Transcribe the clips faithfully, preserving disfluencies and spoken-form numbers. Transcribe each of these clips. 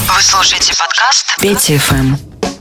Вы слушаете подкаст Петя эф эм.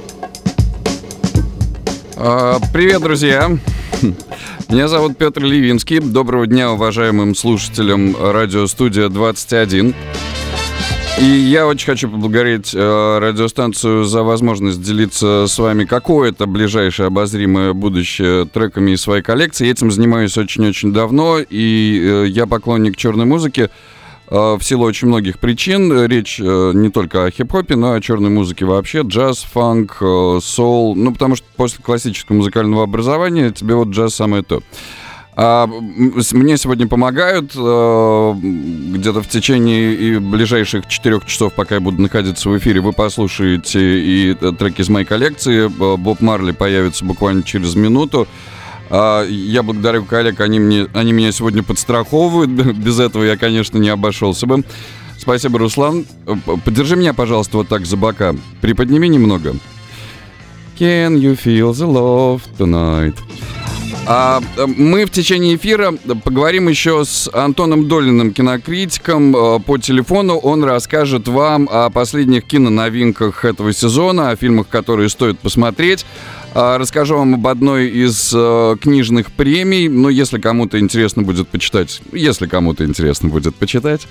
А, привет, друзья! Меня зовут Петр Левинский. Доброго дня, уважаемым слушателям радиостудия двадцать один. И я очень хочу поблагодарить э, радиостанцию за возможность делиться с вами какое-то ближайшее обозримое будущее треками из своей коллекции. Этим занимаюсь очень-очень давно, и э, я поклонник черной музыки э, в силу очень многих причин. Речь э, не только о хип-хопе, но и о черной музыке вообще. Джаз, фанк, э, соул. Ну, потому что после классического музыкального образования тебе вот джаз самое то. А мне сегодня помогают э, где-то в течение и ближайших четырех часов, пока я буду находиться в эфире, вы послушаете и треки из моей коллекции. Боб Марли появится буквально через минуту. А я благодарю коллег, они, мне, они меня сегодня подстраховывают. Без этого я, конечно, не обошелся бы. Спасибо, Руслан. Подержи меня, пожалуйста, вот так за бока. Приподними немного. Can you feel the love tonight? А мы в течение эфира поговорим еще с Антоном Долиным, кинокритиком, по телефону. Он расскажет вам о последних киноновинках этого сезона, о фильмах, которые стоит посмотреть. Расскажу вам об одной из книжных премий. Ну, если кому-то интересно будет почитать. Если кому-то интересно будет почитать.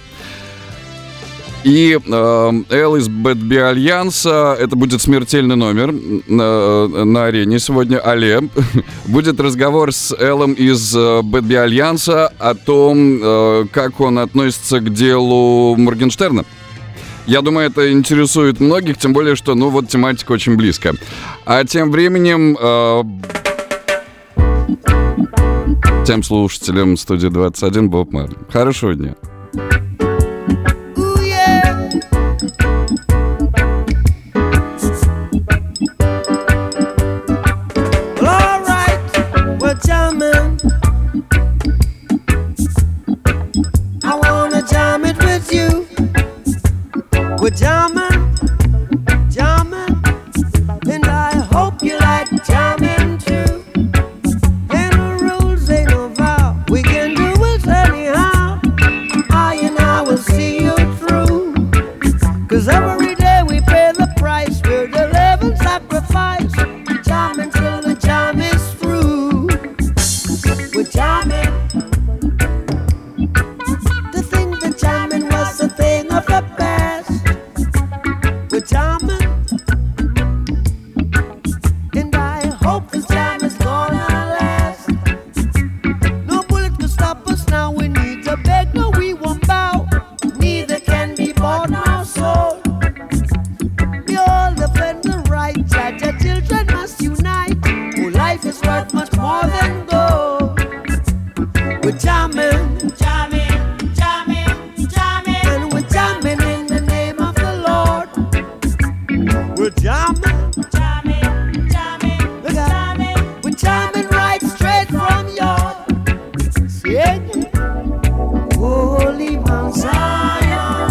И э, Эл из Бэтби Альянса, это будет смертельный номер на, на арене сегодня, але. Будет разговор с Элом из Бэтби Альянса о том, э, как он относится к делу Моргенштерна. Я думаю, это интересует многих, тем более, что, ну, вот тематика очень близкая. А тем временем... Э, тем слушателям студии двадцать один Боб Марли. Хорошего дня. We're jamming, jamming, and I hope you like jamming too. Ain't no rules, ain't no vow, we can do it anyhow. I and I will see you through, 'cause every day we pay the price, we're the living sacrifice. Jamming till the jam is through. We're jamming. To think that jamming was a thing of the past. We're jamming, and I hope this jam is gonna last. No bullet can stop us now, we need to beg, no we won't bow. Neither can be bought nor sold. We all defend the right, judge our children must unite. Oh, life is worth much more than gold. We're jamming, jamming, jamming, jamming, and we're jamming in the name of the Lord. We're jamming, jamming, jamming, we're jamming, we're jamming right straight from your singing. Holy Mount Zion,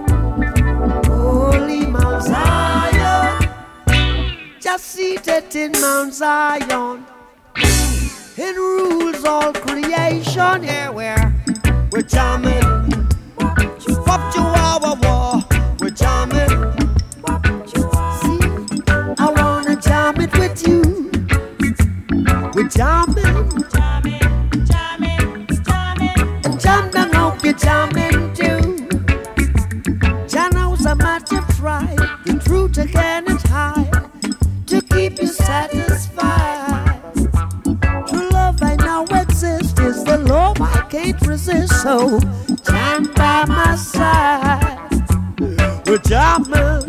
Holy Mount Zion, just seated in Mount Zion, it rules all creation. Yeah, we're we're jamming, pop to our war, we're jamming. I wanna jam it with you. We're jamming, jamming, jamming, jamming, and jam down, hope you're jamming too. Jah knows how much you've tried, the truth again is high, to keep you satisfied. True love I know exists, is the love I can't resist. So jam by my side. We're jamming.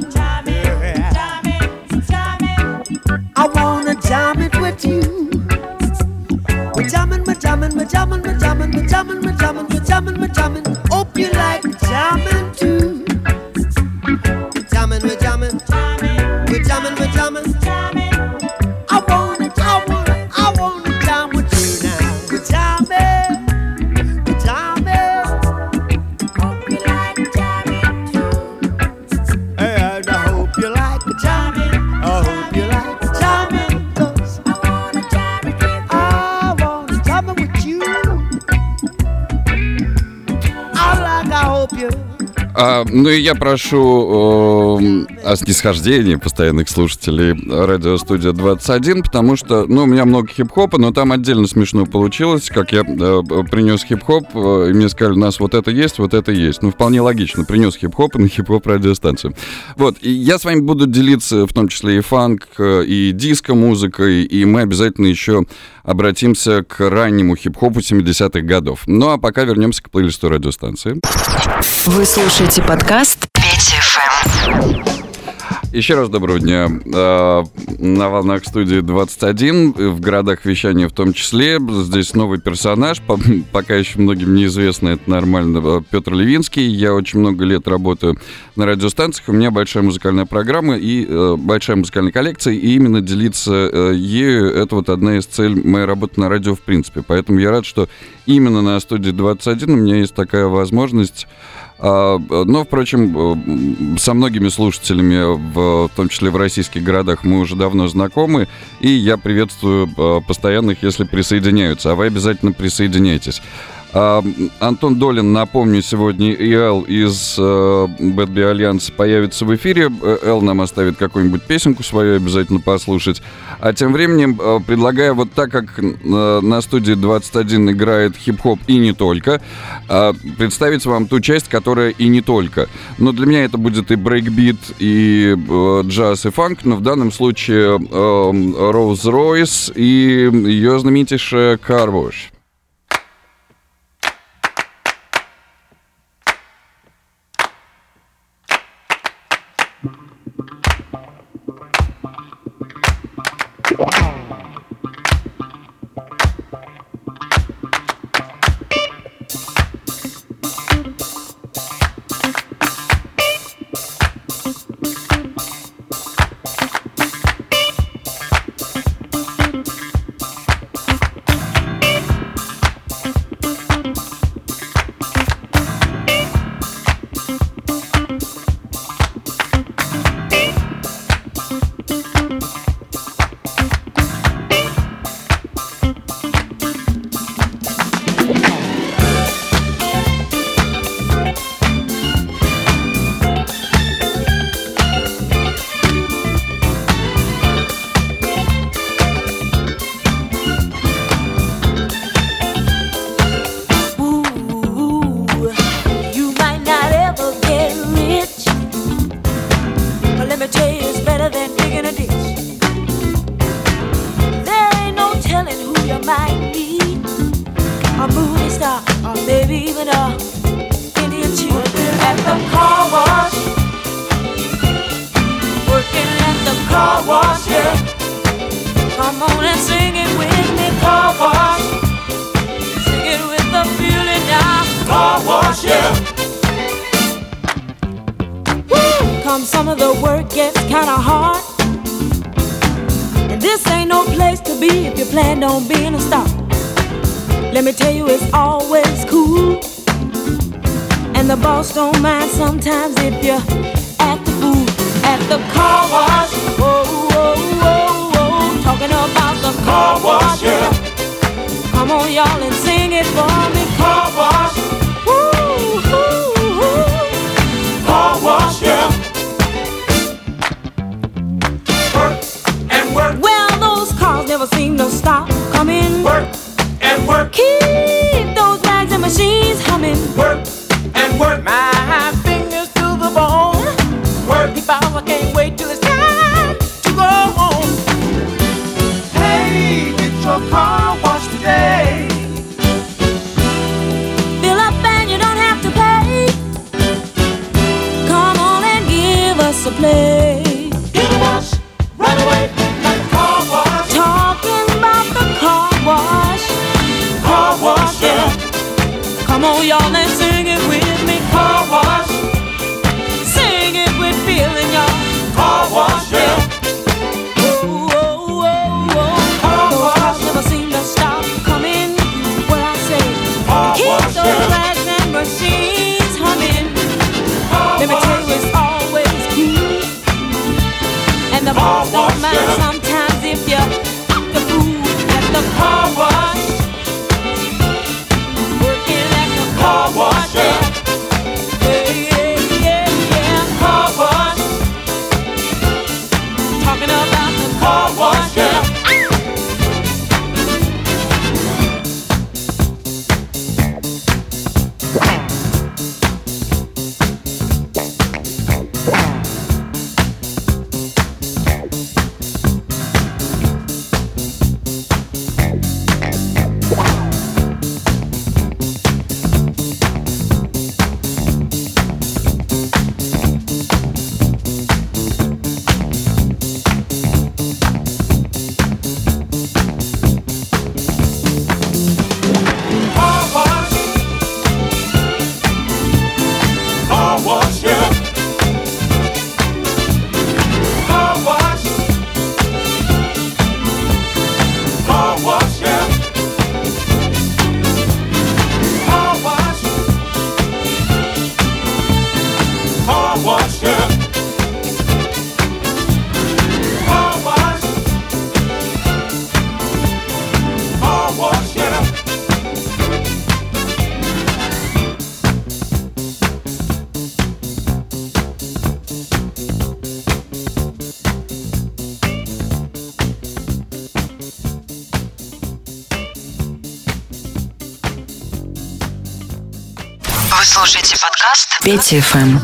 I wanna jam it with you. We're jamming, we're jamming, we're jamming, we're jamming, we're jamming, we're jamming, we're jamming, we're jamming. Hope you like jamming too. We're jamming, we're jamming, we're jamming, we're jamming. I wanna, I wanna, I wanna jam with you now. We're jamming, we're jamming. Hope you like jamming too. And I hope you like jamming. I hope you like. А, ну и я прошу э, о снисхождении постоянных слушателей радиостудия двадцать один, потому что, ну, у меня много хип-хопа, но там отдельно смешно получилось, как я э, принес хип-хоп, э, и мне сказали, у нас вот это есть, вот это есть. Ну, вполне логично, принес хип-хоп на хип-хоп радиостанцию. Вот, и я с вами буду делиться в том числе и фанк, и диско-музыкой, и мы обязательно еще обратимся к раннему хип-хопу семидесятых годов. Ну, а пока вернемся к плейлисту радиостанции. Вы слушаете подкаст Петя эф эм. Еще раз доброго дня. На волнах студии двадцать один, в городах вещания в том числе. Здесь новый персонаж, пока еще многим неизвестно, это нормально, Петр Ливинский. Я очень много лет работаю на радиостанциях, у меня большая музыкальная программа и большая музыкальная коллекция, и именно делиться ею — это вот одна из целей моей работы на радио в принципе. Поэтому я рад, что именно на студии двадцать один у меня есть такая возможность. Но, впрочем, со многими слушателями, в том числе в российских городах, мы уже давно знакомы, и я приветствую постоянных, если присоединяются, а вы обязательно присоединяйтесь. Антон Долин, напомню, сегодня и Эл из Bad Bee Alliance появится в эфире. Эл нам оставит какую-нибудь песенку свою обязательно послушать. А тем временем предлагаю, вот так как на студии двадцать один играет хип-хоп и не только, представить вам ту часть, которая и не только. Но для меня это будет и брейкбит, и джаз, и фанк, но в данном случае Rolls-Royce и ее знаменитейшая Car Wash. Some of the work gets kinda hard, and this ain't no place to be if you plan on being a star. Let me tell you, it's always cool, and the boss don't mind sometimes if you act the fool at the car wash. Whoa, whoa, whoa, whoa, talking about the car wash, yeah. Come on, y'all, and sing it for me. Car wash, woo, woo, woo. Car wash, yeah. Well, those cars never seem to stop coming. Work and work. Keep those rags and machines humming. Work and work. My fingers to the bone. Work. If I can't wait till it's time to go home. Hey, get your car washed today. Fill up and you don't have to pay. Come on and give us a play. Get a wash right away. Car wash, yeah. Come on, y'all, and sing it with me. Car wash. Sing it with feeling, y'all. Car wash, yeah. Whoa, whoa, whoa, whoa. Car Those wash. cars never seem to stop coming. What I say? Car Keep wash, those yeah. rags and machines humming. Car Let me tell wash. you, it's always cool. And the Car boss don't wash, mind yeah. sometimes if you act the fool at the car wash. Car wash, yeah. Yeah, yeah, yeah, yeah. Car wash. слушаете подкаст Петя эф эм.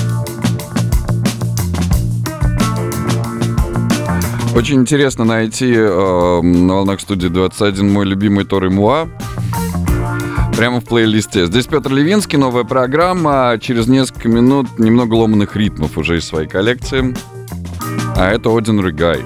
Очень интересно найти э, на волнах студии двадцать один мой любимый Тор и Муа прямо в плейлисте. Здесь Петр Ливинский, новая программа. Через несколько минут немного ломаных ритмов уже из своей коллекции. А это Ordinary Guy.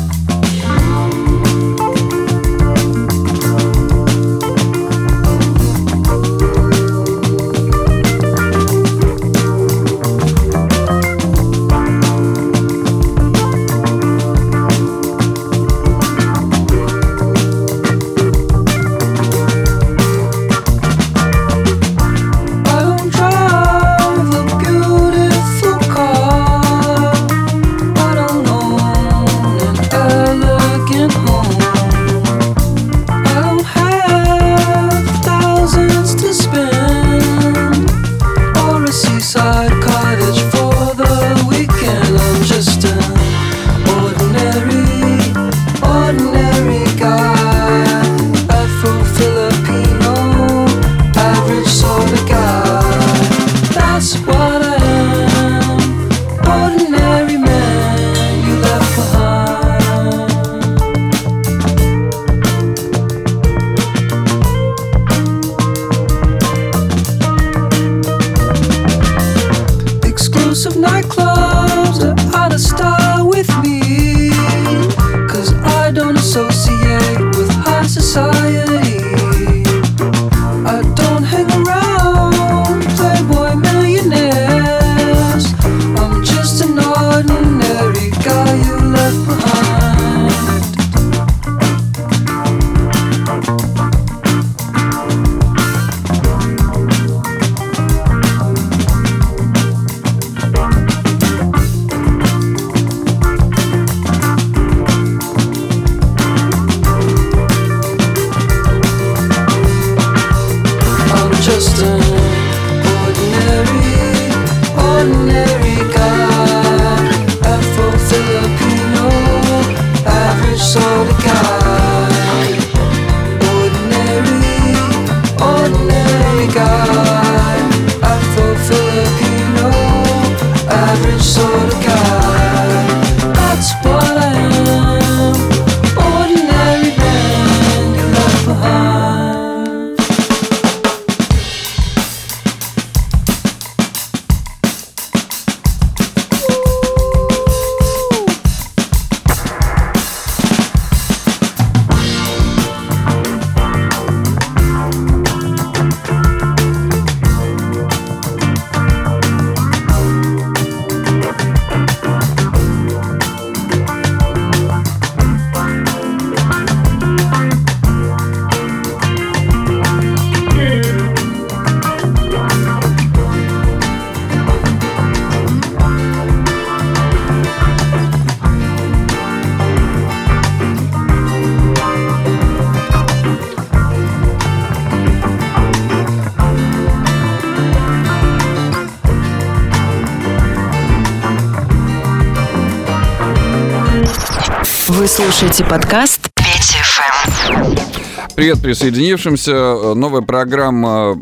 Вы слушаете подкаст Петя эф эм. Привет присоединившимся. Новая программа,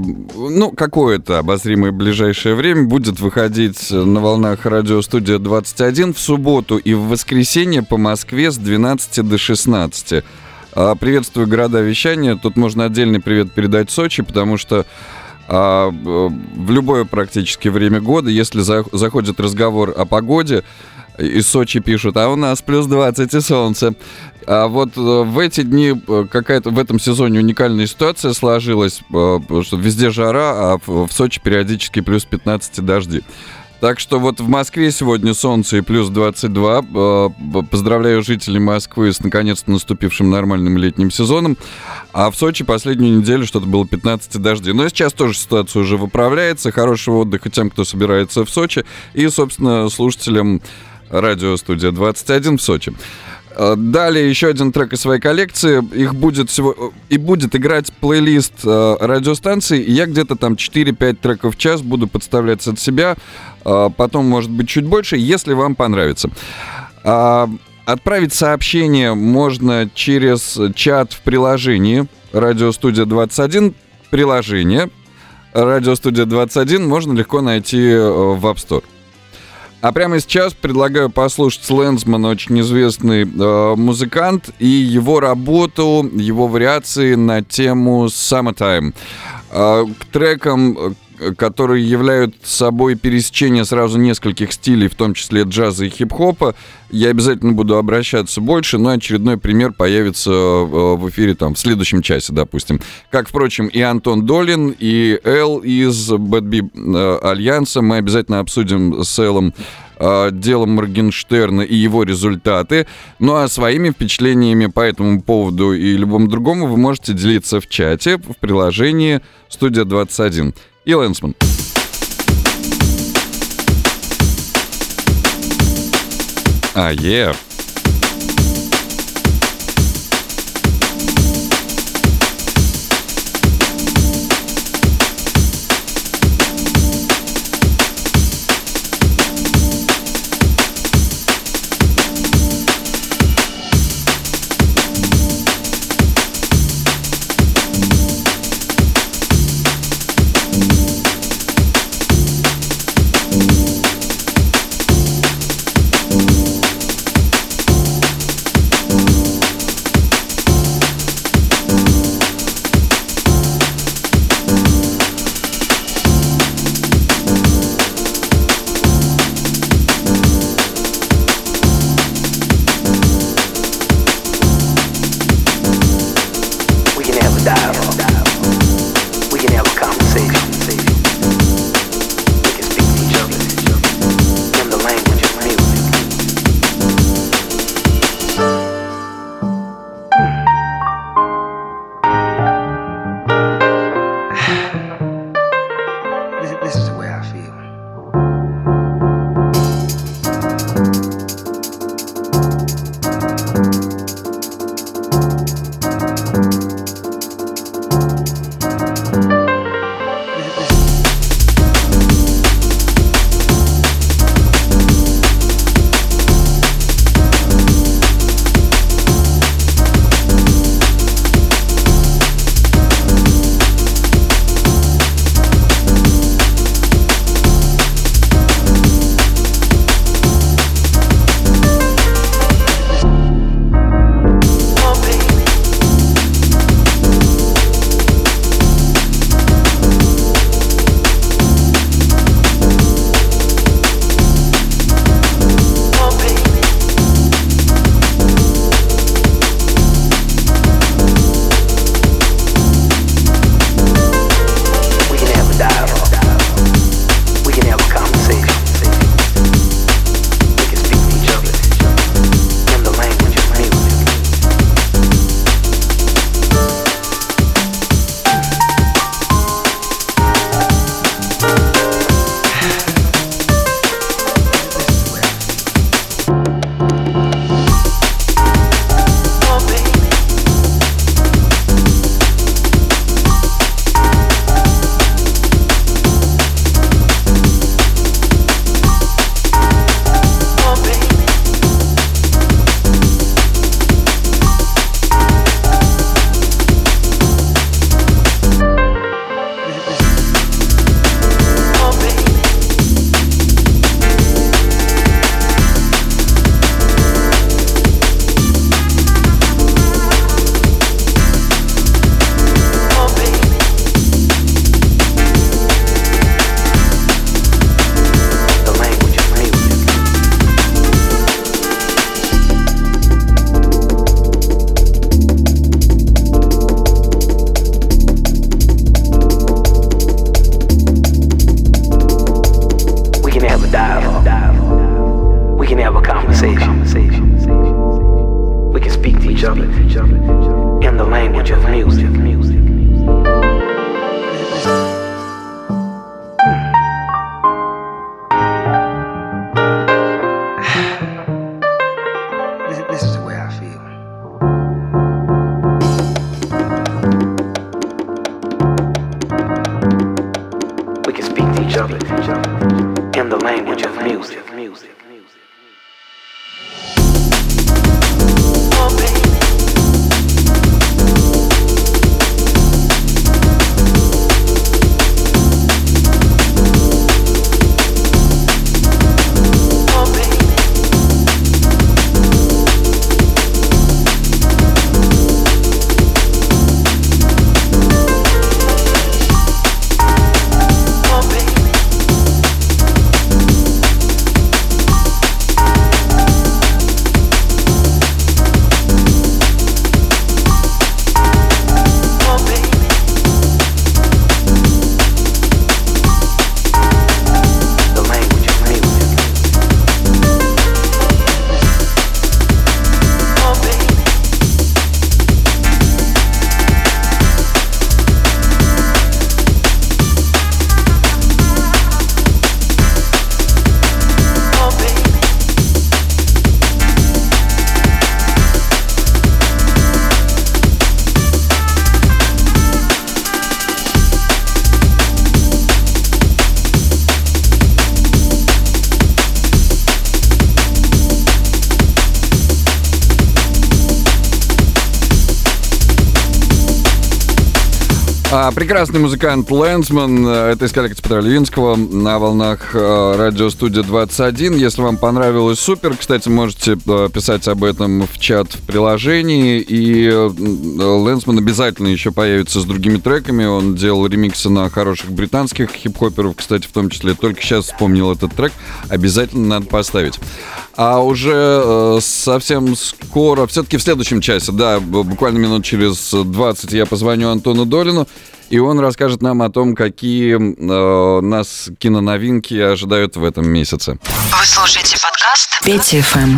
ну, какое-то обозримое ближайшее время будет выходить на волнах радиостудия двадцать один в субботу и в воскресенье по Москве с двенадцати до шестнадцати. Приветствую города вещания. Тут можно отдельный привет передать Сочи, потому что в любое практически время года, если заходит разговор о погоде, из Сочи пишут, а у нас плюс двадцать и солнце. А вот в эти дни какая-то в этом сезоне уникальная ситуация сложилась, что везде жара, а в Сочи периодически плюс пятнадцать и дожди. Так что вот в Москве сегодня солнце и плюс двадцать два. Поздравляю жителей Москвы с наконец-то наступившим нормальным летним сезоном. А в Сочи последнюю неделю что-то было пятнадцать и дожди. Но сейчас тоже ситуация уже выправляется. Хорошего отдыха тем, кто собирается в Сочи. И, собственно, слушателям радиостудия двадцать один в Сочи. Далее еще один трек из своей коллекции. Их будет всего... И будет играть плейлист э, радиостанции. Я где-то там четыре-пять треков в час буду подставлять от себя. Э, потом, может быть, чуть больше, если вам понравится. Э, отправить сообщение можно через чат в приложении радиостудия двадцать один. Приложение. «Радиостудия двадцать один» можно легко найти в App Store. А прямо сейчас предлагаю послушать Лэнсмана, очень известный э, музыкант, и его работу, его вариации на тему «Summertime». Э, к трекам, которые являются собой пересечение сразу нескольких стилей, в том числе джаза и хип-хопа, я обязательно буду обращаться больше, но очередной пример появится в эфире там в следующем часе, допустим. Как, впрочем, и Антон Долин, и Эл из Bad Bee Альянса. Мы обязательно обсудим с Элом дело Моргенштерна и его результаты. Ну а своими впечатлениями по этому поводу и любому другому вы можете делиться в чате в приложении «Студия двадцать один». И Лэнсман. А, е. in the language of music. Oh, baby. А, прекрасный музыкант Лэнсман, это из коллекции Петра Левинского на волнах а, радиостудия двадцать один. Если вам понравилось, супер. Кстати, можете а, писать об этом в чат в приложении. И а, Лэнсман обязательно еще появится с другими треками. Он делал ремиксы на хороших британских хип-хоперов, кстати, в том числе. Только сейчас вспомнил этот трек. Обязательно надо поставить. А уже э, совсем скоро, все-таки в следующем часе, да, буквально минут через двадцать я позвоню Антону Долину, и он расскажет нам о том, какие э, нас киноновинки ожидают в этом месяце. Вы слушаете подкаст Петя эф эм.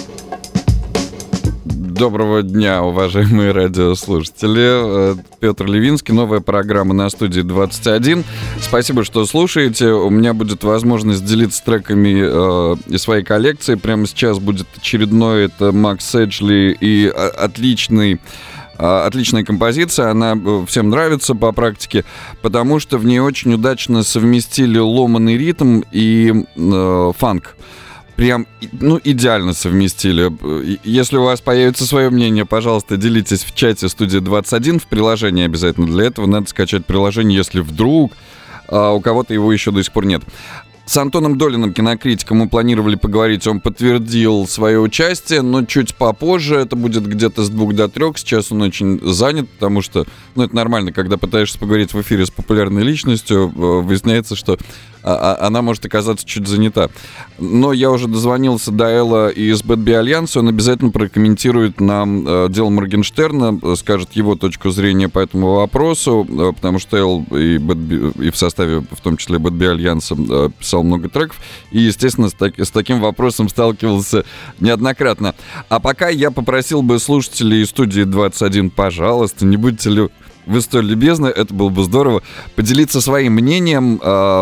Доброго дня, уважаемые радиослушатели. Петр Левинский, новая программа на студии двадцать один. Спасибо, что слушаете. У меня будет возможность делиться треками э, из своей коллекции. Прямо сейчас будет очередной. Это Макс Эджли и отличный... Отличная композиция, она всем нравится по практике, потому что в ней очень удачно совместили ломаный ритм и э, фанк. Прям, ну, идеально совместили. Если у вас появится свое мнение, пожалуйста, делитесь в чате студии двадцать один, в приложении обязательно. Для этого надо скачать приложение, если вдруг а, у кого-то его еще до сих пор нет. С Антоном Долиным, кинокритиком, мы планировали поговорить. Он подтвердил свое участие, но чуть попозже. Это будет где-то с двух до трех. Сейчас он очень занят, потому что, ну, это нормально, когда пытаешься поговорить в эфире с популярной личностью, выясняется, что она может оказаться чуть занята. Но я уже дозвонился до Элла из Bad Bee Alliance. Он обязательно прокомментирует нам э, дело Моргенштерна, скажет его точку зрения по этому вопросу, э, потому что Эл и, Bad Bee, и в составе, в том числе, Bad Bee Alliance, э, писал много треков. И, естественно, с, так, с таким вопросом сталкивался неоднократно. А пока я попросил бы слушателей студии двадцать один, пожалуйста, не будьте ли... Вы столь любезны, это было бы здорово. Поделиться своим мнением,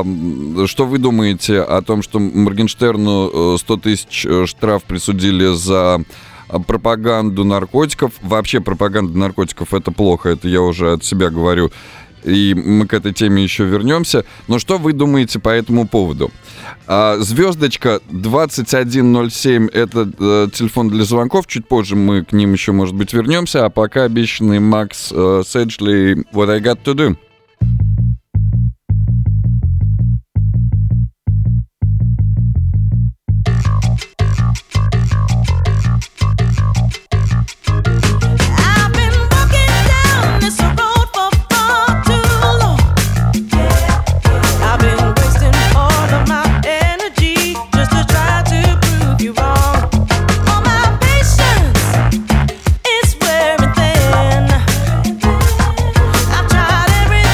э, что вы думаете о том, что Моргенштерну сто тысяч штраф присудили за пропаганду наркотиков. Вообще пропаганда наркотиков — это плохо, это я уже от себя говорю. И мы к этой теме еще вернемся. Но что вы думаете по этому поводу? А, звездочка двадцать один ноль семь — это э, телефон для звонков. Чуть позже мы к ним еще, может быть, вернемся. А пока обещанный Макс э, Седжли «What I Got To Do». Everything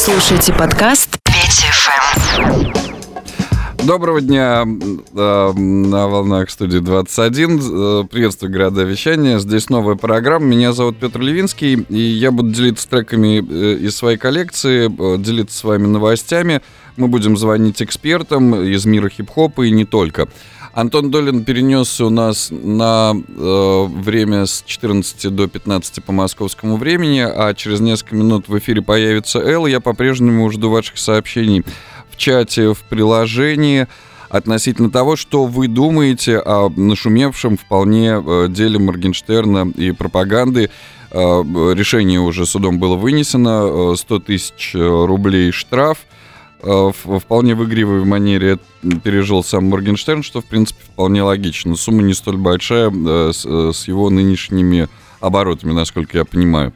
слушаете подкаст пять эф эм. Доброго дня э, на волнах студии двадцать один. Э, приветствую, города вещания. Здесь новая программа. Меня зовут Петр Ливинский, и я буду делиться треками э, из своей коллекции, э, делиться с вами новостями. Мы будем звонить экспертам из мира хип-хопа и не только. Антон Долин перенесся у нас на э, время с четырнадцати до пятнадцати по московскому времени, а через несколько минут в эфире появится Эл. Я по-прежнему жду ваших сообщений в чате, в приложении относительно того, что вы думаете о нашумевшем вполне э, деле Моргенштерна и пропаганды. Э, решение уже судом было вынесено, э, сто тысяч рублей штраф. В вполне в игривой манере пережил сам Моргенштерн, что, в принципе, вполне логично. Сумма не столь большая с, с его нынешними оборотами, насколько я понимаю.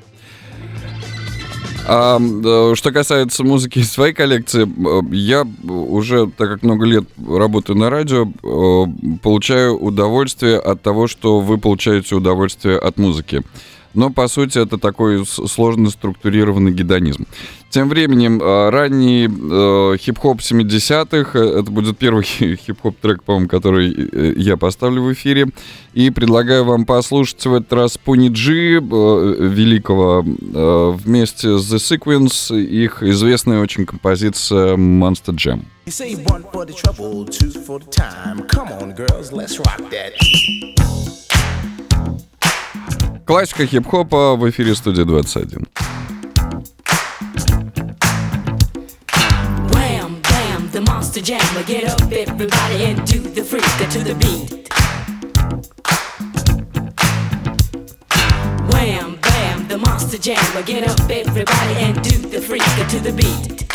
А что касается музыки из своей коллекции, я уже, так как много лет работаю на радио, получаю удовольствие от того, что вы получаете удовольствие от музыки. Но, по сути, это такой сложно структурированный гедонизм. Тем временем, ранний э, хип-хоп семидесятых, это будет первый хип-хоп трек, по-моему, который я поставлю в эфире. И предлагаю вам послушать в этот раз Pony G, э, великого, э, вместе с The Sequence, их известная очень композиция Monster Jam. You say one for the trouble, two for the time. Come on, girls, let's rock that. Классика хип-хопа в эфире студии двадцать один. Wham, bam, the monster jammer. Get up, everybody, and do the freak to the beat. Wham, bam, the monster jammer. Get up, everybody, and do the freak to the beat.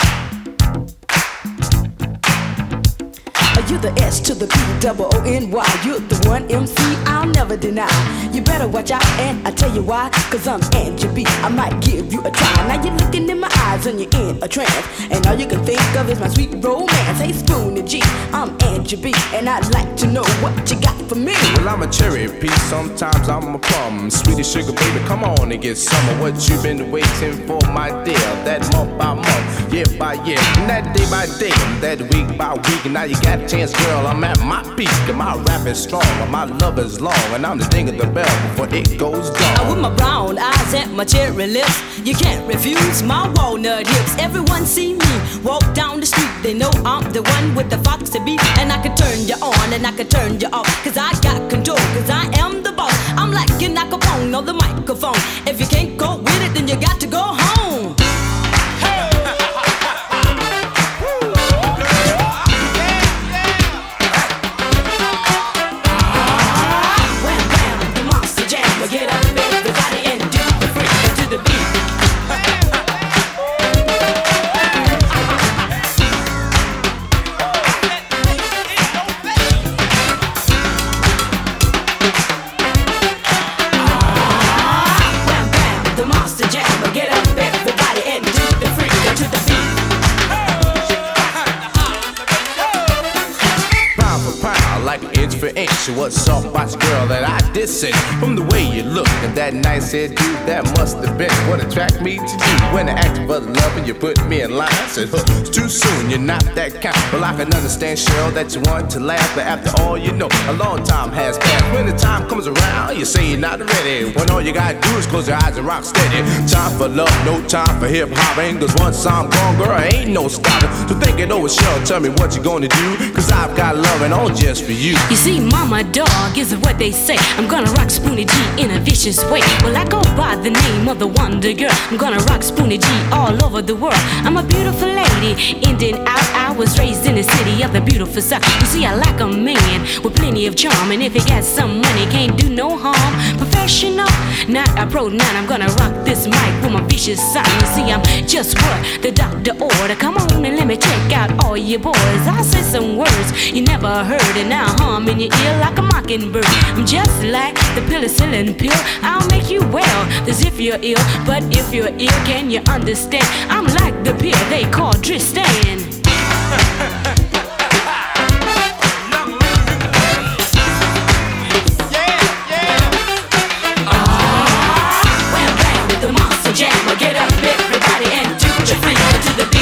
You're the S to the P, double O N Y. You're the one M C I'll never deny. You better watch out, and I tell you why. Cause I'm Angie B, I might give you a try. Now you're looking in my eyes and you're in a trance, and all you can think of is my sweet romance. Hey Spoonie G, I'm Angie B, and I'd like to know what you got for me. Well, I'm a cherry piece, sometimes I'm a plum. Sweetie sugar baby, come on and get some of what you've been waiting for, my dear. That month by month, year by year, and that day by day, and that week by week. And now you got a chance, girl, I'm at my peak. And my rap is strong, and my love is long, and I'm the ding of the bell before it goes down. With my brown eyes and my cherry lips, you can't refuse my walnut hips. Everyone see me walk down the street, they know I'm the one with the foxy beat. And I can turn you on and I can turn you off, cause I got control, cause I am the boss. I'm like your Capone on the microphone. If you can't go with it, then you got to go home. What's up, watch girl that I dissing? From the way you look and that nice hair, dude, that must have been what attracted me to you. When I asked for the love and you put me in line, I said, huh, it's too soon, you're not that kind. Well, I can understand, Cheryl, that you want to laugh, but after all, you know, a long time has passed. When the time comes around, you say you're not ready. When all you gotta do is close your eyes and rock steady. Time for love, no time for hip-hopping, cause once I'm gone, girl, ain't no stopping. So think it over, Cheryl, tell me what you gonna do, cause I've got loving on just for you. You see, mama dog is what they say. I'm gonna rock Spoonie G in a vicious way. Well, I go by the name of the Wonder Girl. I'm gonna rock Spoonie G all over the world. I'm a beautiful lady, in and out. I was raised in the city of the beautiful South. You see, I like a man with plenty of charm, and if he got some money, can't do no harm. Professional, not a pro, not. I'm gonna rock this mic with my vicious sign. You see, I'm just what the doctor ordered. Come on and let me check out all you boys. I say some words you never heard, and now hum in your ear like a mockingbird. I'm just like the penicillin pill. I'll make you well as if you're ill, but if you're ill, can you understand? I'm like the pill they call Tristan. Get up, everybody, and do the freak to the beat.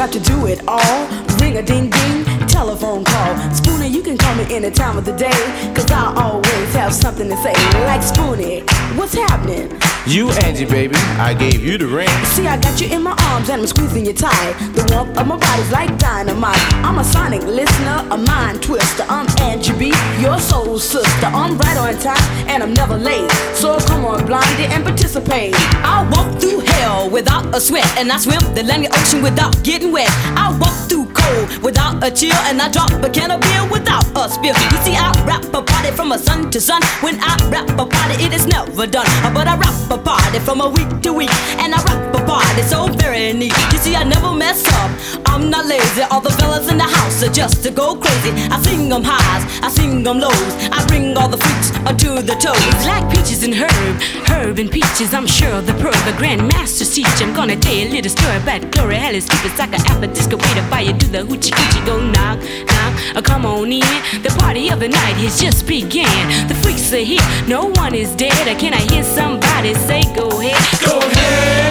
got to do it all. Ring a ding ding, telephone call. Spoonie, you can call me any time of the day, cause I always have something to say. Like Spoonie, what's happening? You, Angie, baby, I gave you the ring. See, I got you in my arms and I'm squeezing you tight. The warmth of my body's like dynamite. I'm a sonic listener, a mind twister. I'm Angie B, your soul sister. I'm right on time and I'm never late. So come on, Blondie, and participate. I walk through hell without a sweat, and I swim the Atlantic Ocean without getting wet. I walk through cold without a chill, and I drop a can of beer without a spill. You see, I rap a party from a sun to sun. When I rap a party, it is never done. But I rap a party from a week to week, and I rap a party so very neat. You see, I never mess up, I'm not lazy. All the fellas in the house are just to go crazy. I sing them highs, I sing them lows. I bring all the freaks to the toes. Like peaches and herb, herb and peaches. I'm sure the pearl, the grandmaster's teach. I'm gonna tell you a little story about Gloria Helly's stupid like a apple disco way to buy you do the hoochie coochie. Go knock, knock, uh, come on in. The party of the night has just began. The freaks are here, no one is dead. Or can I hear somebody say go ahead? Go ahead.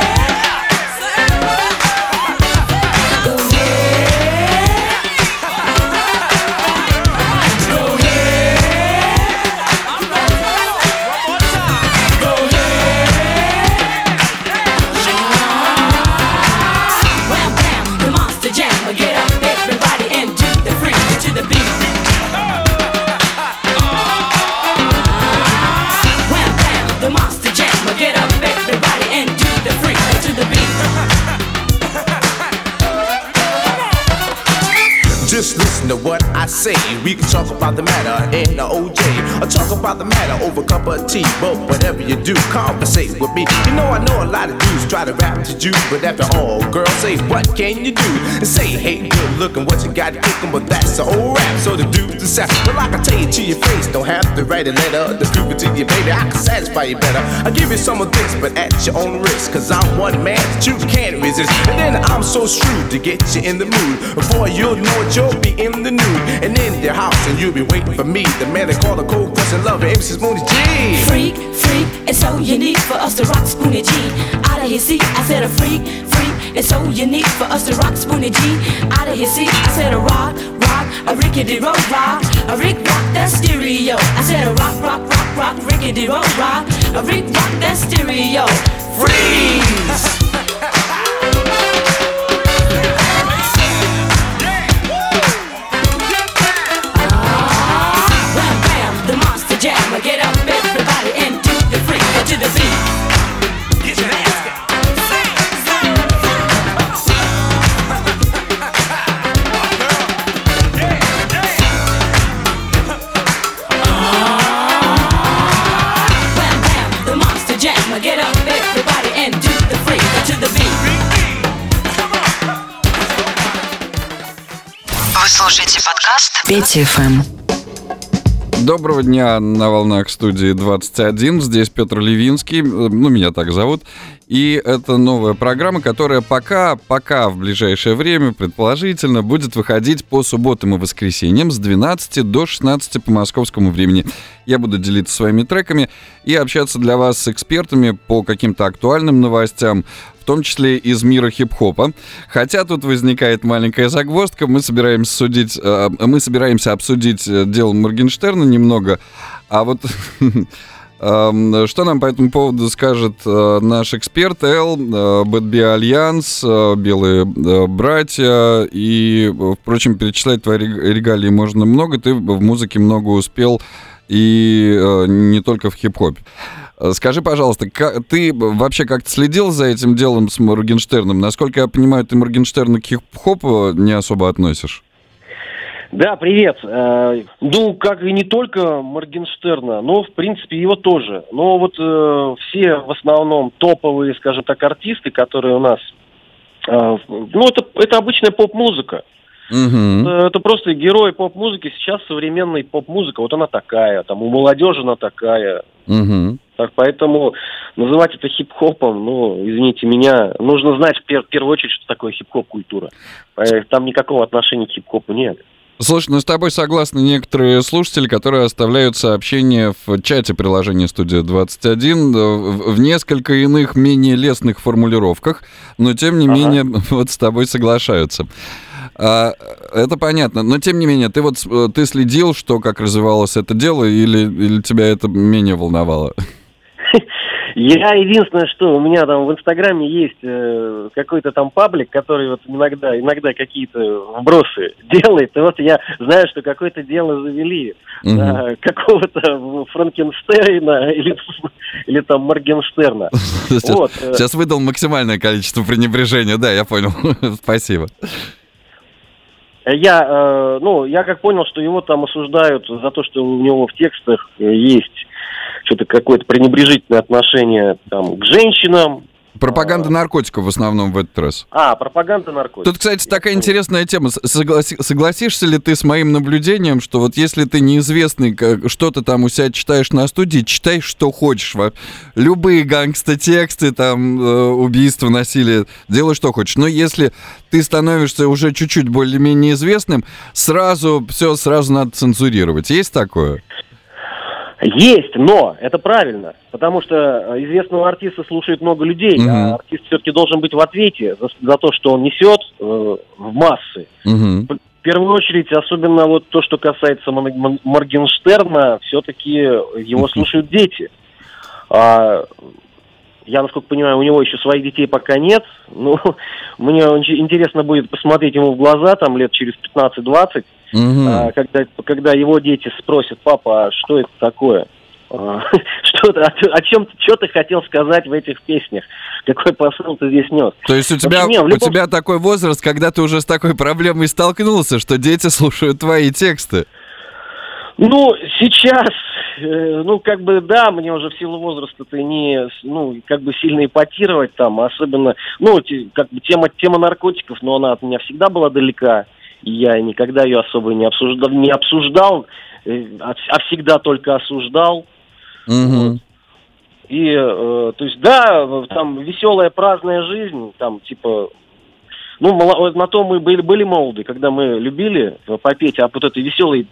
Just listen to what I say. We can talk about the matter in the O J, or talk about the matter over a cup of tea. But whatever you do, conversate with me. You know I know a lot of dudes try to rap to you, but after all, girls say, what can you do? And say, hey, good looking, what you got cooking, but that's the whole rap. So the dudes decide, well, I can tell you to your face, don't have to write a letter to prove it to you, baby. I can satisfy you better. I'll give you some of this, but at your own risk, cause I'm one man that you can't resist. And then I'm so shrewd to get you in the mood. Before you'll know it, you'll be in the nude and in their house, and you'll be waiting for me. The man they call the cold crushing lover, M C Spoonie G. Freak, freak, it's so unique for us to rock Spoonie G. Out of his seat, I said a freak, freak, it's so unique for us to rock Spoonie G. Out of his seat, I said a rock, rock, a rickety road rock, a Rick rock that stereo. I said a rock, rock, rock, rock, rickety road rock, a Rick rock that stereo. Freeze! Get up, everybody, and do the freak to the beat. Get your ass down. Wham bam, the monster jam. Get up, everybody, and do the freak to the beat. Вы слушаете подкаст Петя эф эм. Доброго дня на волнах студии двадцать один. Здесь Петр Ливинский, ну, меня так зовут. И это новая программа, которая пока, пока в ближайшее время, предположительно, будет выходить по субботам и воскресеньям с двенадцати до шестнадцати по московскому времени. Я буду делиться своими треками и общаться для вас с экспертами по каким-то актуальным новостям, в том числе из мира хип-хопа. Хотя тут возникает маленькая загвоздка. Мы собираемся, судить, э, мы собираемся обсудить дело Моргенштерна немного. А вот э, что нам по этому поводу скажет э, наш эксперт Эл, э, Bad Bee Альянс, э, Белые э, братья. И, впрочем, перечислять твои регалии можно много. Ты в музыке много успел, и э, не только в хип-хопе. Скажи, пожалуйста, как, ты вообще как-то следил за этим делом с Моргенштерном? Насколько я понимаю, ты Моргенштерна к хип-хопу не особо относишь? Да, привет. Э, ну, как и не только Моргенштерна, но, в принципе, его тоже. Но вот э, все в основном топовые, скажем так, артисты, которые у нас... Э, ну, это, это обычная поп-музыка. Угу. Это, это просто герои поп-музыки. Сейчас современная поп-музыка, вот она такая. Там у молодежи она такая. Угу. Так, поэтому называть это хип-хопом, ну, извините меня, нужно знать в, пер- в первую очередь, что такое хип-хоп-культура. Там никакого отношения к хип-хопу нет. Слушай, ну с тобой согласны некоторые слушатели, которые оставляют сообщения в чате приложения «Студия двадцать один» в, в несколько иных, менее лестных формулировках, но тем не ага. менее вот с тобой соглашаются. А, это понятно, но тем не менее, ты вот ты следил, что как развивалось это дело, или, или тебя это менее волновало? Я единственное, что у меня там в Инстаграме есть э, какой-то там паблик, который вот иногда, иногда какие-то вбросы делает. И вот я знаю, что какое-то дело завели угу. э, какого-то Франкенштейна или, или там Моргенштерна. Сейчас, вот. Сейчас выдал максимальное количество пренебрежения, да, я понял. Спасибо. Я, э, ну, я как понял, что его там осуждают за то, что у него в текстах есть что-то какое-то пренебрежительное отношение там к женщинам. Пропаганда наркотиков в основном в этот раз. А, пропаганда наркотиков. Тут, кстати, такая интересная тема. Согласи, согласишься ли ты с моим наблюдением, что вот если ты неизвестный, что ты там у себя читаешь на студии, читай, что хочешь. Любые гангста-тексты, там, убийства, насилие, делай, что хочешь. Но если ты становишься уже чуть-чуть более-менее известным, сразу все сразу надо цензурировать. Есть такое? Есть, но это правильно, потому что известного артиста слушает много людей, mm-hmm. а артист все-таки должен быть в ответе за, за то, что он несет э, в массы. Mm-hmm. В первую очередь, особенно вот то, что касается Моргенштерна, все-таки его слушают дети. А, я, насколько понимаю, у него еще своих детей пока нет. Ну, мне очень интересно будет посмотреть ему в глаза там лет через пятнадцать-двадцать. Угу. А, когда, когда его дети спросят: папа, а что это такое? А, что, о, о чем что ты хотел сказать в этих песнях? Какой посыл ты здесь нес? То есть у тебя, общем, не, любом... у тебя такой возраст, когда ты уже с такой проблемой столкнулся, что дети слушают твои тексты? Ну, сейчас, э, ну, как бы, да, мне уже в силу возраста-то не, ну, как бы сильно эпатировать там, особенно, ну, те, как бы тема, тема наркотиков, но она от меня всегда была далека. И я никогда ее особо не обсуждал, не обсуждал, а всегда только осуждал. Mm-hmm. Вот. И, э, то есть, да, там веселая праздная жизнь, там, типа, ну, на то мы были, были молоды, когда мы любили попеть о вот этой веселой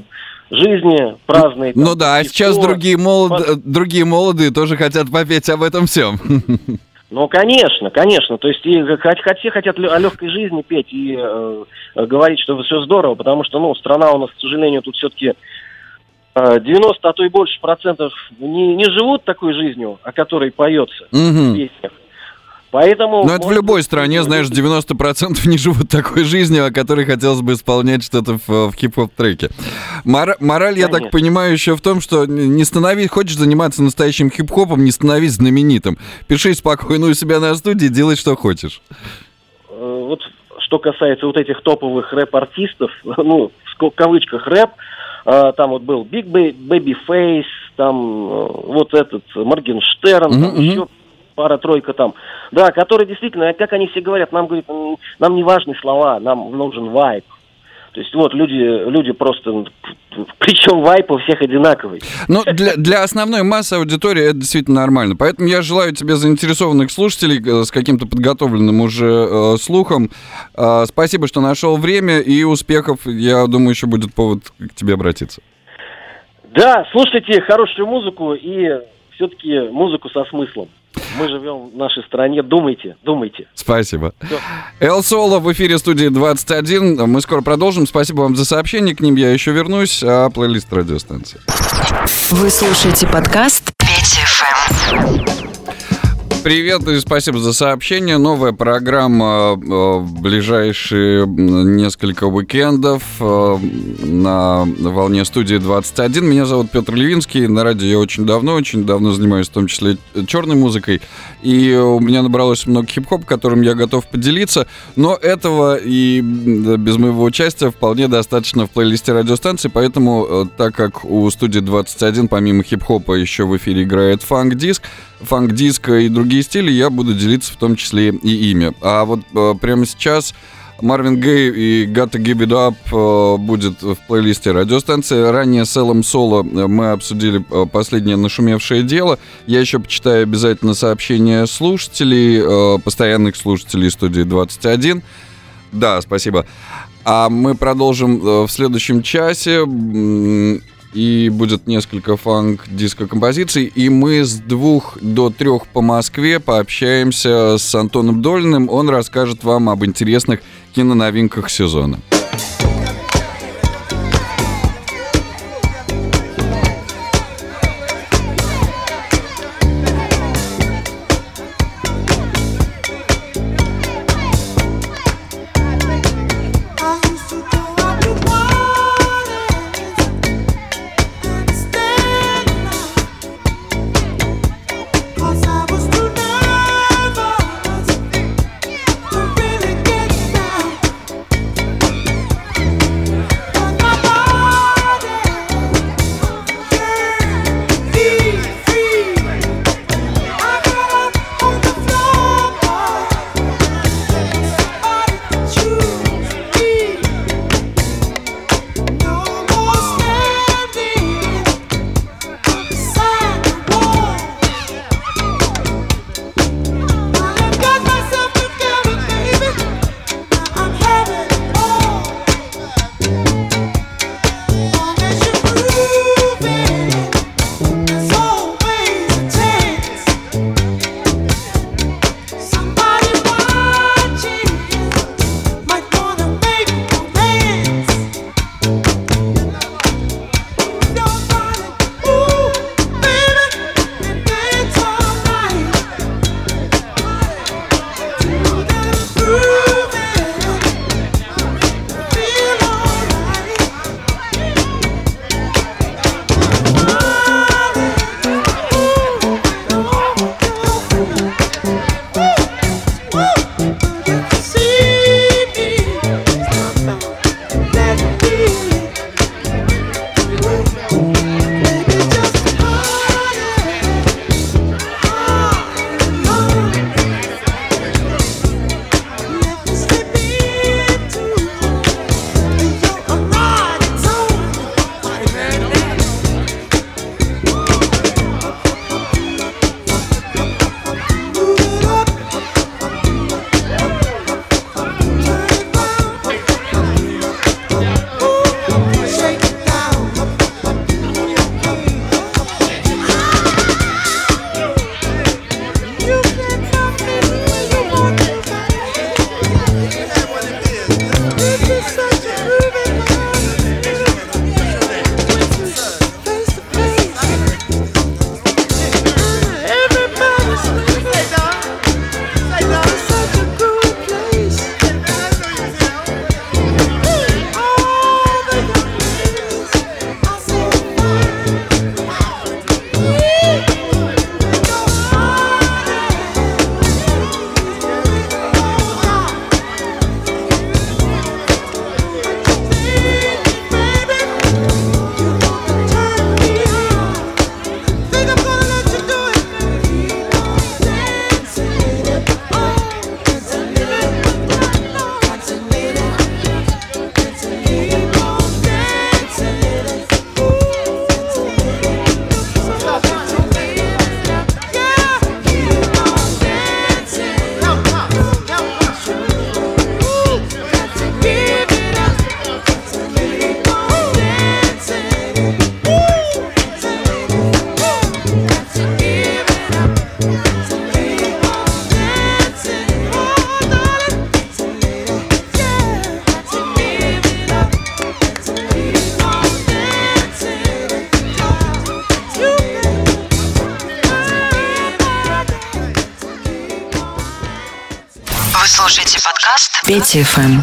жизни, праздной. Там, ну да, а сейчас другие, молод... под... другие молодые тоже хотят попеть об этом всем. Ну, конечно, конечно. То есть и все хотят о легкой жизни петь и э, говорить, что все здорово, потому что, ну, страна у нас, к сожалению, тут все-таки э, девяносто, а то и больше процентов не, не живут такой жизнью, о которой поется mm-hmm. в песнях. Поэтому... Но это в любой быть, стране, знаешь, девяносто процентов не живут такой жизнью, о которой хотелось бы исполнять что-то в, в хип-хоп треке. Мор- мораль, я так понимаю, еще в том, что не становись, хочешь заниматься настоящим хип-хопом, не становись знаменитым. Пиши спокойно у себя на студии, делай, что хочешь. Вот что касается вот этих топовых рэп-артистов, ну, в кавычках рэп, там вот был Big Babyface, там вот этот Моргенштерн, mm-hmm, там еще... пара-тройка там, да, которые действительно, как они все говорят, нам, говорит, нам не важны слова, нам нужен вайб. То есть вот люди, люди просто, причем вайп у всех одинаковый. Ну, для, для основной массы аудитории это действительно нормально. Поэтому я желаю тебе заинтересованных слушателей с каким-то подготовленным уже э, слухом. Э, спасибо, что нашел время, и успехов. Я думаю, еще будет повод к тебе обратиться. Да, слушайте хорошую музыку и все-таки музыку со смыслом. Мы живем в нашей стране, думайте, думайте. Спасибо. Эл Соло в эфире студии двадцать один. Мы скоро продолжим. Спасибо вам за сообщение, к ним я еще вернусь, а плейлист радиостанции. Вы слушаете подкаст пять эф эм. Привет и спасибо за сообщение. Новая программа в ближайшие несколько уикендов на волне студии двадцать один. Меня зовут Петр Левинский. На радио я очень давно, очень давно занимаюсь в том числе черной музыкой. И у меня набралось много хип-хоп, которым я готов поделиться. Но этого и без моего участия вполне достаточно в плейлисте радиостанции. Поэтому, так как у студии двадцать один помимо хип-хопа еще в эфире играет фанк-диск, фанк-диск и другие стили, я буду делиться в том числе и ими. А вот э, прямо сейчас Марвин Гей и Gotta Give It Up э, будет в плейлисте радиостанции. Ранее с Элом Соло мы обсудили э, последнее нашумевшее дело. Я еще почитаю обязательно сообщения слушателей, э, постоянных слушателей студии двадцать один. Да, спасибо. А мы продолжим в следующем часе. И будет несколько фанк-диско-композиций. И мы с двух до трех по Москве пообщаемся с Антоном Долиным. Он расскажет вам об интересных киноновинках сезона. Вы слушаете подкаст Петя эф эм.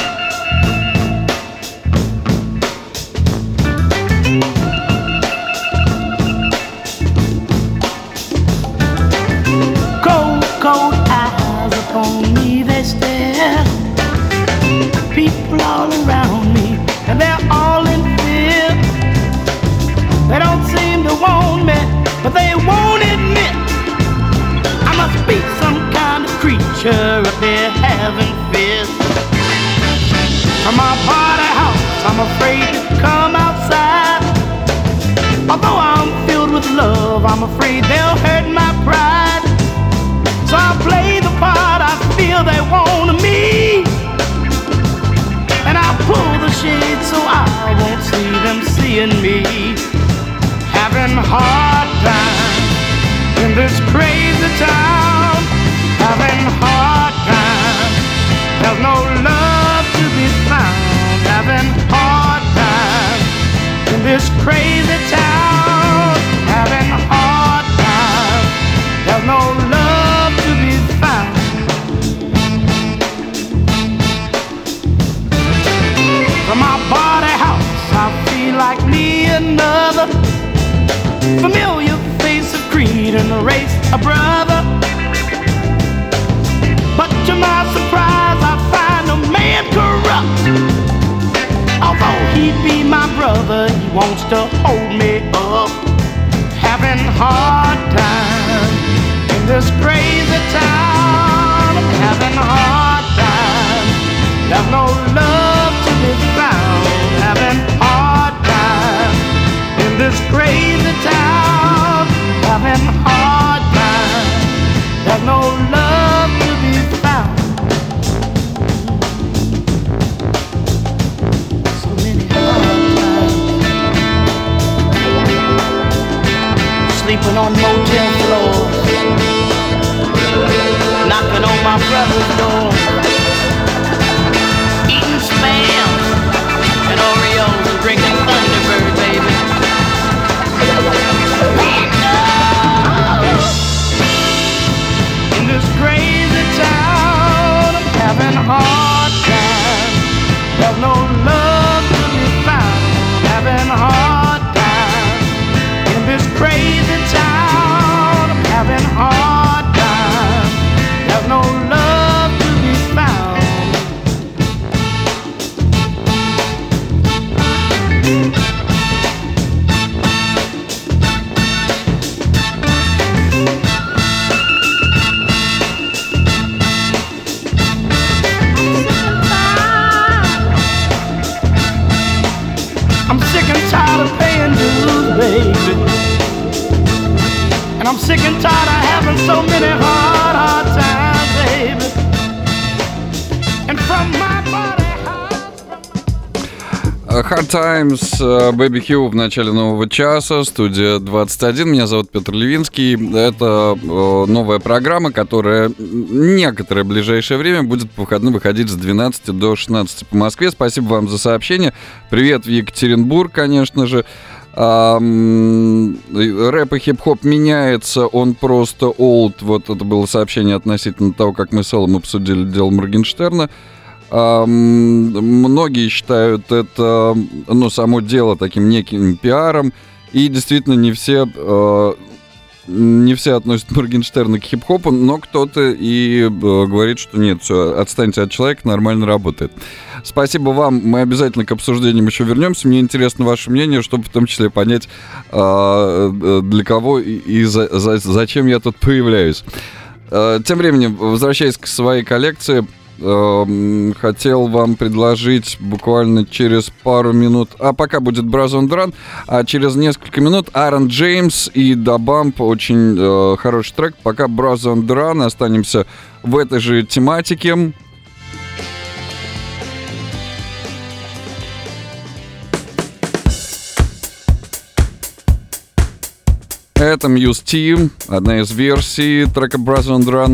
Cold, cold eyes upon me they stare. People all around me and they're all in fear. They don't seem to want me, but they won't admit I must be some kind of creature up there having fears. From my party house, I'm afraid to come outside. Although I'm filled with love, I'm afraid they'll hurt my pride. So I play the part I feel they want of me, and I seeing me having hard time in this crazy town, having hard time. There's no love to be found, having hard time in this crazy town, having hard time. There's no love to be found. From my body house, I feel like me another familiar face of creed and the race a brother. But to my surprise, I find a man corrupt. Although he be my brother, he wants to hold me up. Having hard time in this crazy town. I'm having hard time. There's no love to be found. Having hard time in this crazy town. Having hard time. There's no love to be found. So many hard times. Sleeping on motel floors, knocking on my brother's door, eating Spam and Oreos and drinking Thunderbird, baby. In this crazy town, I'm having a hard time. There's no love to be found. Having a hard time. In this crazy town, I'm having a hard time. There's no love to be found. I'm sick and tired of paying dues, baby. And I'm sick and tired of having so many hard, hard times, baby. And from my body Hard Times, Baby Hugh в начале нового часа, студия двадцать один. Меня зовут Петр Левинский. Это новая программа, которая некоторое ближайшее время будет по выходным выходить с двенадцати до шестнадцати по Москве. Спасибо вам за сообщение. Привет в Екатеринбург, конечно же. Рэп и хип-хоп меняется, он просто old. Вот это было сообщение относительно того, как мы с Эллом обсудили дело Моргенштерна. Многие считают это, ну, само дело таким неким пиаром, и действительно не все, не все относят Моргенштерна к хип-хопу, но кто-то и говорит, что нет, все, отстаньте от человека, нормально работает. Спасибо вам, мы обязательно к обсуждениям еще вернемся. Мне интересно ваше мнение, чтобы в том числе понять, для кого и за, за, зачем я тут появляюсь. Тем временем, возвращаясь к своей коллекции, хотел вам предложить буквально через пару минут, а пока будет Bras on Run, а через несколько минут Aaron James и Da Bump, очень э, хороший трек. Пока Bras on Run, останемся в этой же тематике. Это Muse T, одна из версий трека Bras on Run.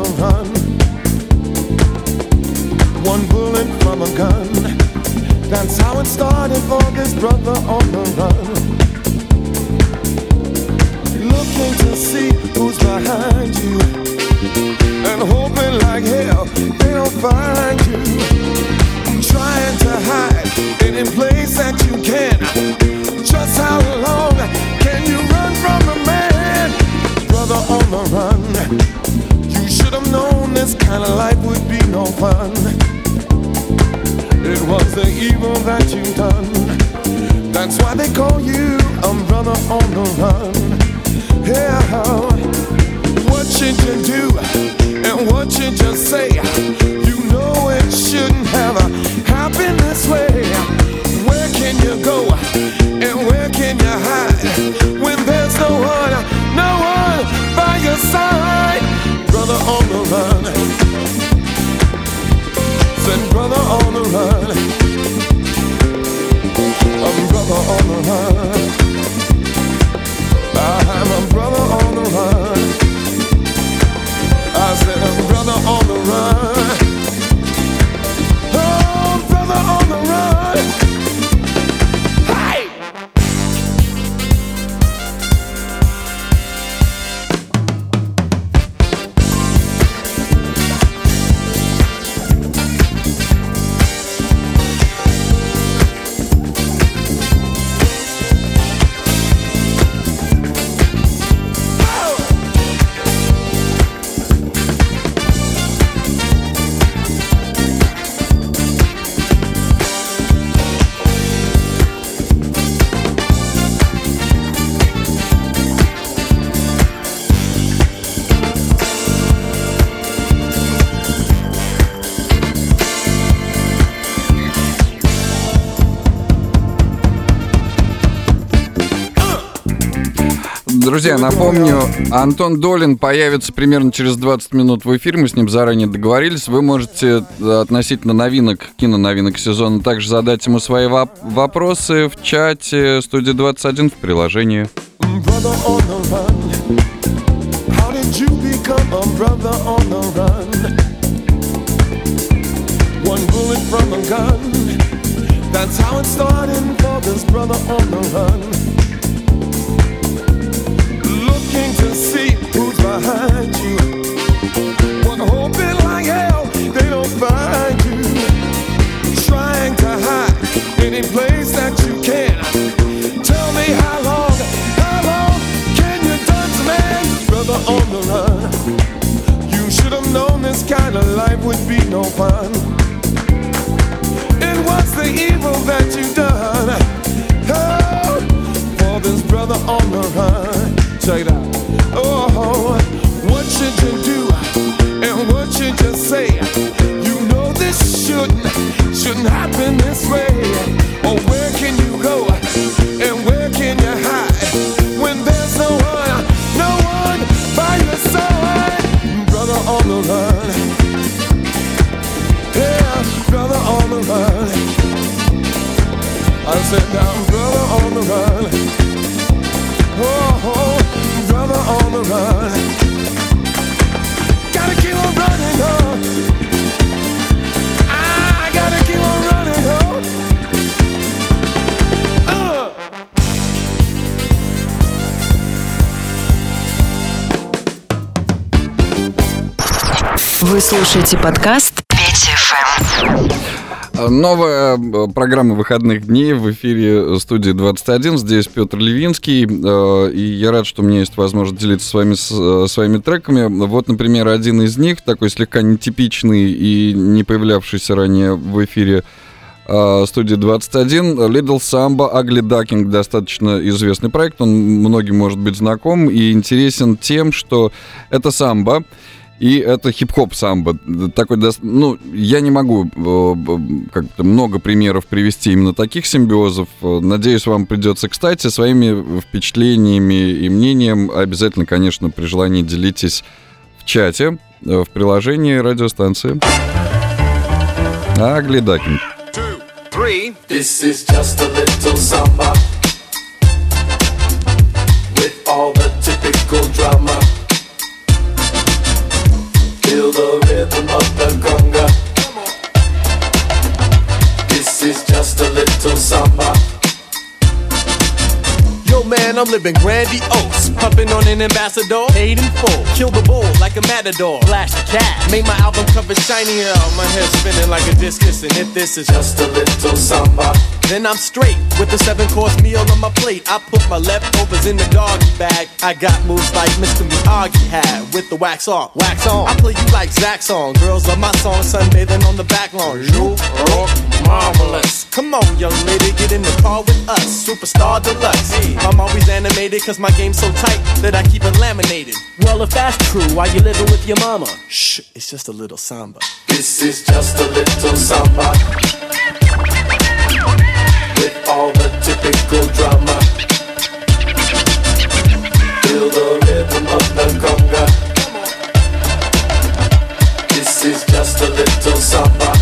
the run. One bullet from a gun. That's how it started for this brother on the run. Looking to see who's behind you, and hoping like hell they don't find you. Trying to hide any place that you can. Just how long can you run from a man? Brother on the run. You should have known this kind of life would be no fun. It was the evil that you done. That's why they call you a brother on the run. Yeah, what should you do and what should you say? You know it shouldn't have happened this way. Where can you go and where can you hide when there's no one, no one by your side? Brother on the run. Said brother on the run. A brother on the run. I'm a brother on the run. I said a brother on the run. Oh, brother on the run. Hey! Друзья, напомню, Антон Долин появится примерно через двадцать минут в эфире. Мы с ним заранее договорились. Вы можете относительно новинок, киноновинок сезона, также задать ему свои воп- вопросы в чате студии двадцать один в приложении. Looking to see who's behind you. One hoping like hell they don't find you. Trying to hide any place that you can. Tell me how long, how long can you dance, man? Brother on the run. You should have known this kind of life would be no fun. It was the evil that you done. Oh, for this brother on the run. Check it out. Oh, what should you do and what should you say? You know this shouldn't, shouldn't happen this way. Or where can you go and where can you hide when there's no one, no one by your side? Brother on the run. Yeah, brother on the run. I said now, brother on the run. Oh, brother on the run. Gotta keep on running, oh. I gotta keep on running, oh. Uh. Вы слушаете подкаст пять эф эм. Новая программа выходных дней в эфире студии двадцать один. Здесь Петр Левинский. И я рад, что у меня есть возможность делиться с вами с, своими треками. Вот, например, один из них, такой слегка нетипичный и не появлявшийся ранее в эфире студии двадцать один. Little Samba, Ugly Duckling. Достаточно известный проект. Он многим может быть знаком и интересен тем, что это самбо. И это хип-хоп самбо. Такой, ну, я не могу как-то много примеров привести именно таких симбиозов. Надеюсь, вам придется кстати. Своими впечатлениями и мнением обязательно, конечно, при желании делитесь в чате, в приложении радиостанции. Ugly Duckling. Three. This is just a little samba with all the typical drama. Yo, man, I'm living grandiose. Pumping on an ambassador, paid in full. Kill the bull like a matador. Flash the cat. Made my album cover shiny. Oh, my head spinning like a discus. And if this is just a little samba, then I'm straight with the seven course meal on my plate. I put my leftovers in the doggy bag. I got moves like Mister Miyagi had with the wax off, wax on. I play you like Zach song. Girls love my song, sunbathing on the back lawn. You are marvelous. Come on, young lady, get in the car with us. Superstar deluxe. Hey, I'm always animated cause my game's so tight that I keep it laminated. Well, if that's true, why you living with your mama? Shh, it's just a little samba. This is just a little samba with all the typical drama. Feel the rhythm of the conga. This is just a little samba.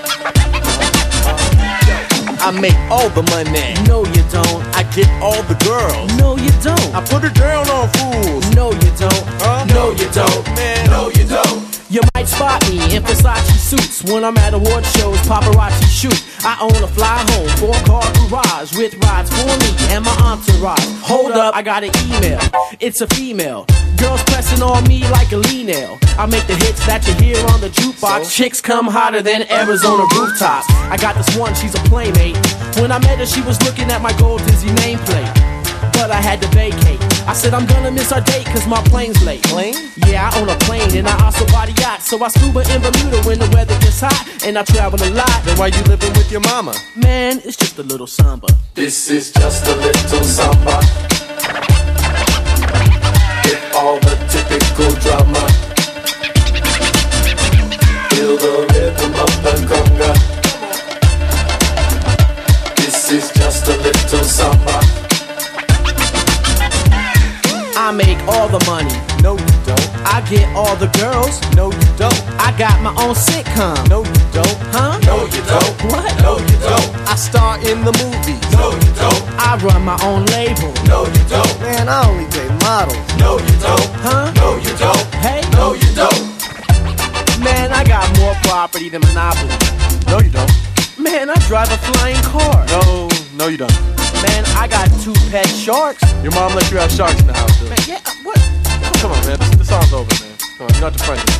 I make all the money. No, you don't. I get all the girls. No, you don't. I put her down on fools. No, you don't. Huh? No, you don't. Man, no, you don't. You might spot me in Versace suits when I'm at award shows, paparazzi shoot. I own a fly home, four-car garage with rides for me and my entourage. Hold up, I got an email. It's a female. Girls pressing on me like a lean nail. I make the hits that you hear on the jukebox. So? Chicks come hotter than Arizona rooftops. I got this one, she's a playmate. When I met her, she was looking at my gold Dizzy nameplate. But I had to vacate. I said I'm gonna miss our date cause my plane's late. Plane? Yeah, I own a plane and I also body yacht. So I scuba in Bermuda when the weather gets hot. And I travel a lot. Then why you living with your mama? Man, it's just a little samba. This is just a little samba with all the typical drama. Feel the rhythm of the conga. This is just a little samba. I make all the money. No, you don't. I get all the girls. No, you don't. I got my own sitcom. No, you don't. Huh? No, you don't. What? No, you don't. I star in the movies. No, you don't. I run my own label. No, you don't. Man, I only date models. No, you don't. Huh? No, you don't. Hey? No, you don't. Man, I got more property than Monopoly. No, you don't. Man, I drive a flying car. No, no, you don't. Man, I got two pet sharks. Your mom let you have sharks in the house, too. Man, yeah, what? Come on, man. This, this song's over, man. Come on, you're not the president.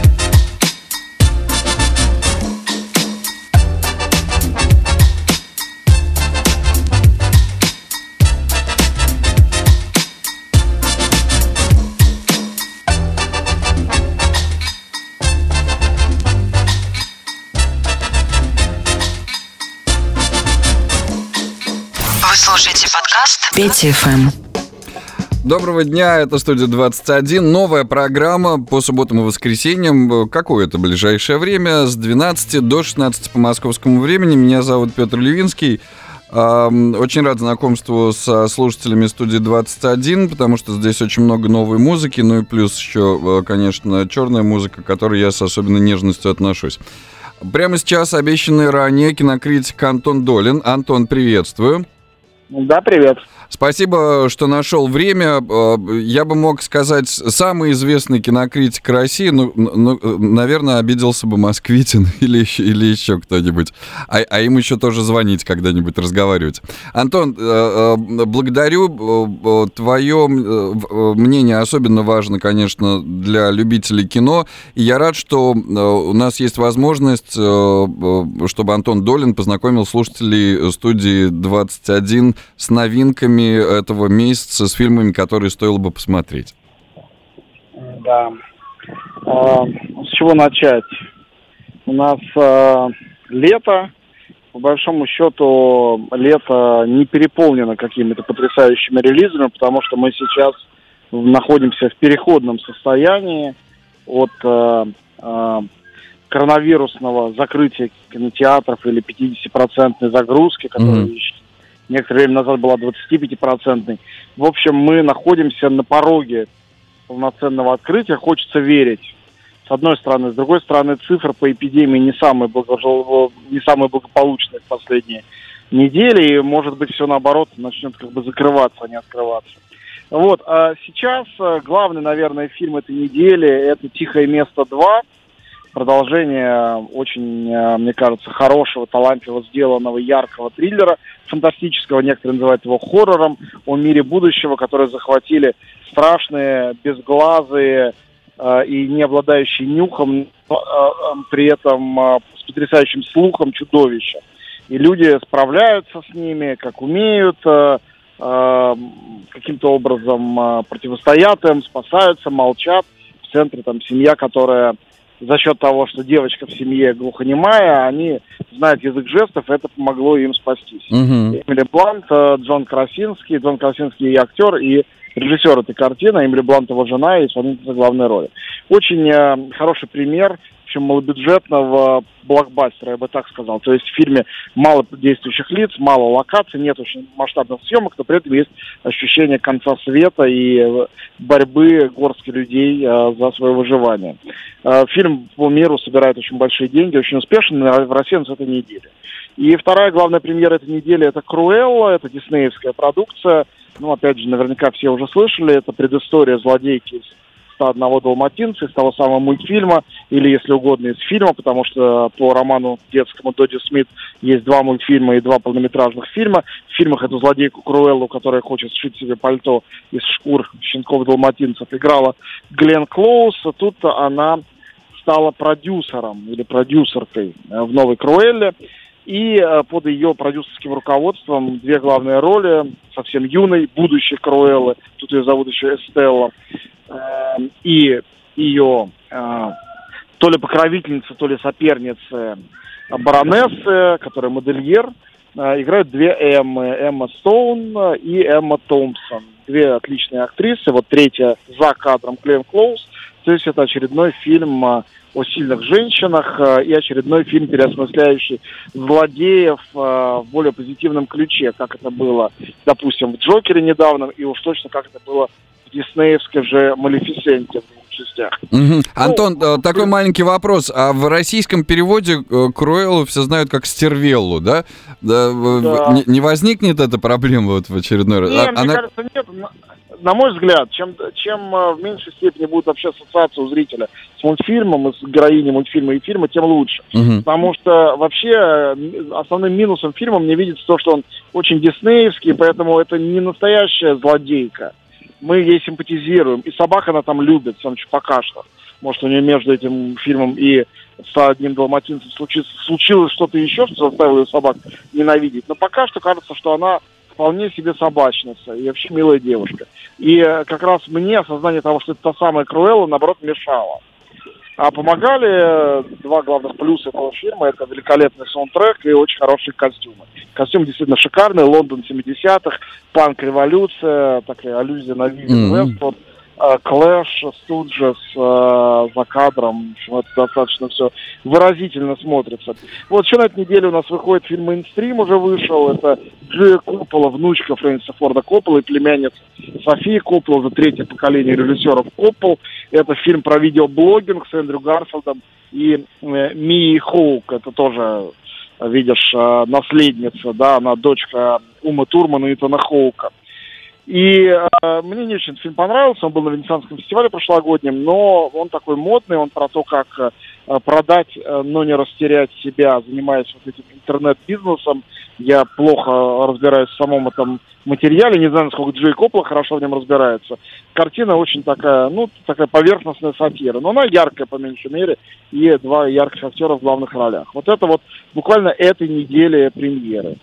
Вы слушаете подкаст Петя эф эм. Доброго дня, это студия двадцать один. Новая программа по субботам и воскресеньям. Какое-то ближайшее время с двенадцати до шестнадцати по московскому времени. Меня зовут Петр Левинский. Очень рад знакомству со слушателями студии двадцать один, потому что здесь очень много новой музыки, ну и плюс еще, конечно, черная музыка, к которой я с особенной нежностью отношусь. Прямо сейчас обещанный ранее кинокритик Антон Долин. Антон, приветствую. Да, привет. Спасибо, что нашел время. Я бы мог сказать, самый известный кинокритик России, ну, ну наверное, обиделся бы Москвитин или еще, или еще кто-нибудь. А, а им еще тоже звонить когда-нибудь, разговаривать. Антон, благодарю. Твое мнение особенно важно, конечно, для любителей кино. И я рад, что у нас есть возможность, чтобы Антон Долин познакомил слушателей студии двадцать один с новинками этого месяца, с фильмами, которые стоило бы посмотреть. Да. А, с чего начать? У нас а, лето. По большому счету, лето не переполнено какими-то потрясающими релизами, потому что мы сейчас находимся в переходном состоянии от а, а, коронавирусного закрытия кинотеатров или пятидесятипроцентной загрузки, которая mm-hmm. некоторое время назад была двадцатипятипроцентной. В общем, мы находимся на пороге полноценного открытия. Хочется верить, с одной стороны. С другой стороны, цифры по эпидемии не самые, благо... не самые благополучные в последние недели. И, может быть, все наоборот начнет как бы закрываться, а не открываться. Вот. А сейчас главный, наверное, фильм этой недели – это «Тихое место два». продолжение очень, мне кажется, хорошего, талантливо сделанного, яркого триллера фантастического. Некоторые называют его хоррором о мире будущего, который захватили страшные, безглазые э, и не обладающие нюхом, э, э, при этом э, с потрясающим слухом чудовища. И люди справляются с ними, как умеют, э, э, каким-то образом э, противостоят им, спасаются, молчат. В центре там семья, которая за счет того, что девочка в семье глухонемая, они знают язык жестов, и это помогло им спастись. Mm-hmm. Эмили Блант, Джон Красинский, Джон Красинский и актер, и режиссер этой картины, Эмили Блант его жена и исполнительница главной роли. Очень э, хороший пример, в общем, малобюджетного блокбастера, я бы так сказал. То есть в фильме мало действующих лиц, мало локаций, нет очень масштабных съемок, но при этом есть ощущение конца света и борьбы горстки людей э, за свое выживание. Э, фильм по миру собирает очень большие деньги, очень успешно, в России он с этой недели. И вторая главная премьера этой недели — это «Круэлла», это диснеевская продукция. Ну, опять же, наверняка все уже слышали, это предыстория злодейки из «сто одного далматинца», из того самого мультфильма, или, если угодно, из фильма, потому что по роману детскому Додди Смит есть два мультфильма и два полнометражных фильма. В фильмах эту злодейку Круэллу, которая хочет сшить себе пальто из шкур щенков-далматинцев, играла Гленн Клоуз. Тут она стала продюсером или продюсеркой в новой Круэлле. И под ее продюсерским руководством две главные роли совсем юной, будущей Круэллы, тут ее зовут еще Эстелла, и ее то ли покровительница, то ли соперница баронессы, которая модельер, играют две Эммы, Эмма Стоун и Эмма Томпсон. Две отличные актрисы, вот третья за кадром Гленн Клоуз. То есть это очередной фильм о сильных женщинах и очередной фильм, переосмысляющий злодеев в более позитивном ключе, как это было, допустим, в «Джокере» недавно, и уж точно как это было в диснеевской же «Малефисенте» в двух частях. Угу. Антон, ну, такой маленький вопрос. А в российском переводе Круэллу все знают как Стервеллу, да? да, да. Не, не возникнет эта проблема вот в очередной раз? Нет, а, мне она... кажется, нет. На мой взгляд, чем, чем в меньшей степени будет вообще ассоциация у зрителя с мультфильмом, и с героиней мультфильма и фильма, тем лучше. Угу. Потому что вообще основным минусом фильма мне видится то, что он очень диснеевский, поэтому это не настоящая злодейка. Мы ей симпатизируем. И собака она там любит, пока что. Может, у нее между этим фильмом и «сто одним далматинцем» случилось, случилось что-то еще, что заставило ее собак ненавидеть. Но пока что кажется, что она вполне себе собачница и вообще милая девушка. И как раз мне осознание того, что это та самая Круэлла, наоборот, мешало. А помогали два главных плюса этого фильма. Это великолепный саундтрек и очень хорошие костюмы. Костюм действительно шикарный. Лондон семидесятых, панк-революция, такая аллюзия на Вивиан Mm-hmm. Вествуд. Клэш, Студжес э, за кадром. В общем, это достаточно все выразительно смотрится. Вот еще на этой неделе у нас выходит фильм «Мейнстрим», уже вышел. Это Джоя Коппола, внучка Фрэнсиса Форда Коппола и племянница Софии Коппола, уже третье поколение режиссеров Коппол. Это фильм про видеоблогинг с Эндрю Гарфилдом и э, Мией Хоук. Это тоже, видишь, э, наследница, да, она дочка Умы Турмана и Итана Хоука. И э, мне не очень этот фильм понравился, он был на Венецианском фестивале прошлогоднем, но он такой модный, он про то, как э, продать, э, но не растерять себя, занимаясь вот этим интернет-бизнесом. Я плохо разбираюсь в самом этом материале, не знаю, насколько Джей Коппола хорошо в нем разбирается. Картина очень такая, ну, такая поверхностная сатира, но она яркая, по меньшей мере, и два ярких актера в главных ролях. Вот это вот буквально этой неделе премьеры.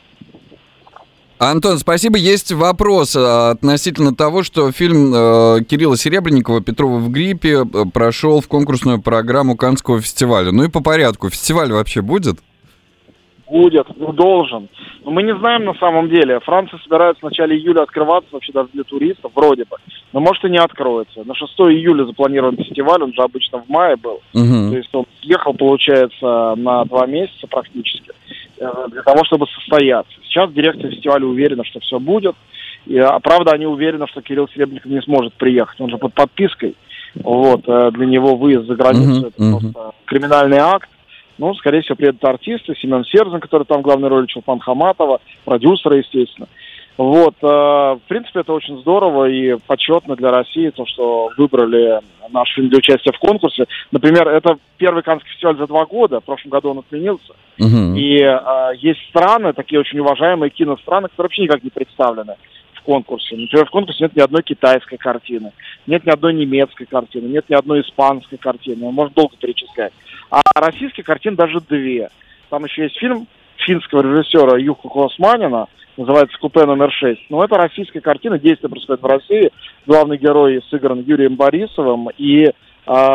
Антон, спасибо. Есть вопрос относительно того, что фильм э, Кирилла Серебренникова «Петрова в гриппе» прошел в конкурсную программу Каннского фестиваля. Ну и по порядку. Фестиваль вообще будет? Будет, ну, должен. Но мы не знаем на самом деле. Франция собирается в начале июля открываться вообще даже для туристов, вроде бы. Но может и не откроется. На шестое июля запланирован фестиваль, он же обычно в мае был. Угу. То есть он ехал, получается, на два месяца практически для того, чтобы состояться. Сейчас дирекция фестиваля уверена, что все будет. И, а правда, они уверены, что Кирилл Серебренников не сможет приехать. Он же под подпиской. Вот, для него выезд за границу uh-huh, это uh-huh. просто криминальный акт. Ну, скорее всего, приедут артисты. Семен Серзин, который там в главной роли, Чулпан Хаматова, продюсеры, естественно. Вот, э, в принципе, это очень здорово и почетно для России, то, что выбрали наш фильм для участия в конкурсе. Например, это первый Каннский фестиваль за два года, в прошлом году он отменился. Мгм. И э, есть страны, такие очень уважаемые киностраны, которые вообще никак не представлены в конкурсе. Например, в конкурсе нет ни одной китайской картины, нет ни одной немецкой картины, нет ни одной испанской картины. Можно долго перечислять. А российских картин даже две. Там еще есть фильм финского режиссера Юху Косманина, называется «Купе номер шесть». Но это российская картина, действие происходит в России. Главный герой сыгран Юрием Борисовым, и э,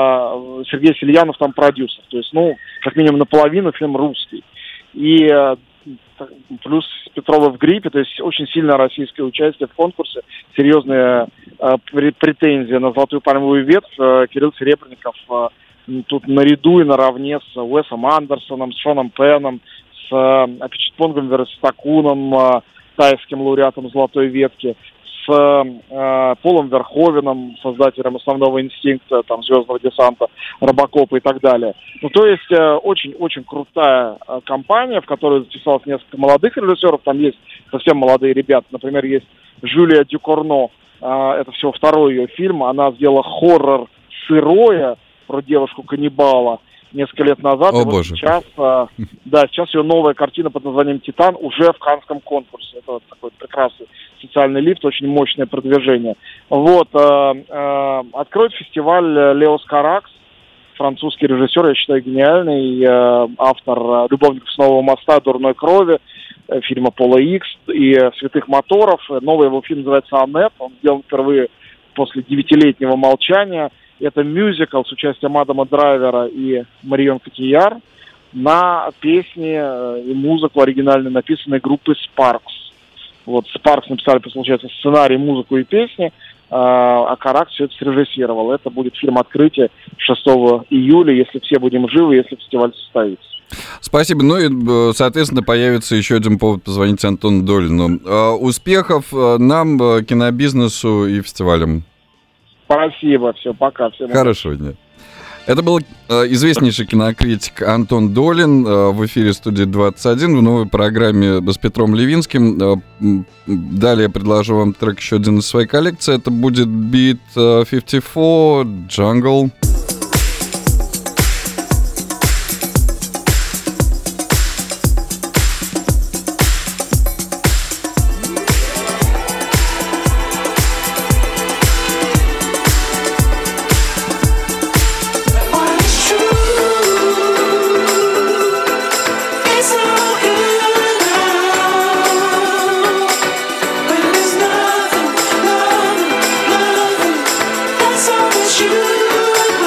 Сергей Сельянов там продюсер. То есть, ну, как минимум наполовину фильм русский. И э, плюс Петрова в гриппе, то есть очень сильное российское участие в конкурсе, серьезные э, претензии на «Золотую пальмовую ветвь». Э, Кирилл Серебренников э, тут наряду и наравне с Уэсом Андерсоном, с Шоном Пеном, с э, Апичитпонгом Верстакуном, э, тайским лауреатом «Золотой ветки», с э, Полом Верховеном, создателем «Основного инстинкта», там, «Звездного десанта», «Робокопа» и так далее. Ну, то есть э, очень-очень крутая э, компания, в которой записалось несколько молодых режиссеров. Там есть совсем молодые ребята. Например, есть Жюлия Дюкорно. Э, это всего второй ее фильм. Она сделала хоррор «Сырое» про девушку-каннибала несколько лет назад. О, и вот боже. сейчас, э, да, сейчас ее новая картина под названием «Титан» уже в Каннском конкурсе. Это вот такой прекрасный социальный лифт, очень мощное продвижение. Вот, э, э, откроет фестиваль Леос Каракс, французский режиссер, я считаю, гениальный, э, автор э, «Любовников с Нового моста», «Дурной крови», э, фильма Пола Икс и э, «Святых моторов». Новый его фильм называется «Аннет», он сделан впервые после девятилетнего молчания. Это мюзикл с участием Адама Драйвера и Марион Котийяр на песни э, и музыку оригинально написанной группы Sparks. Вот Sparks написали, получается, сценарий, музыку и песни, а Каракс все это срежиссировал. Это будет фильм открытия шестого июля, если все будем живы, если фестиваль состоится. Спасибо. Ну и, соответственно, появится еще один повод позвонить Антону Долину. Успехов нам, кинобизнесу и фестивалям. Спасибо. Все, пока. Всем Хорошего дня. Это был э, известнейший кинокритик Антон Долин э, в эфире студии двадцать один в новой программе с Петром Левинским. Э, далее предложу вам трек еще один из своей коллекции. Это будет Beat пятьдесят четыре Jungle. You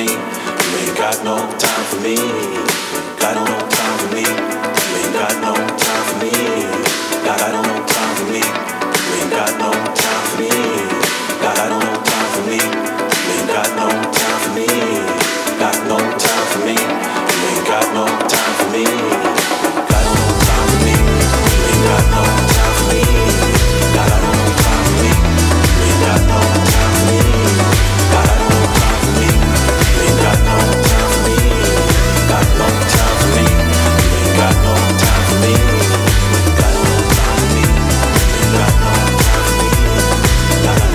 me. You ain't got no time for me. Got no time for me. You ain't got no time for me. Got no time for me. You ain't got no time for me. Got no time for me. You ain't got no time for me. Got no time for me. You ain't got no time for me. Got no time for me. You ain't got no time for me. Got no time for me. You ain't got no time for me. Got no time for me. You ain't got no time for me. Got no time for me. You ain't got no time for me. Got no time for me. You ain't got no time for me. Got no time for me.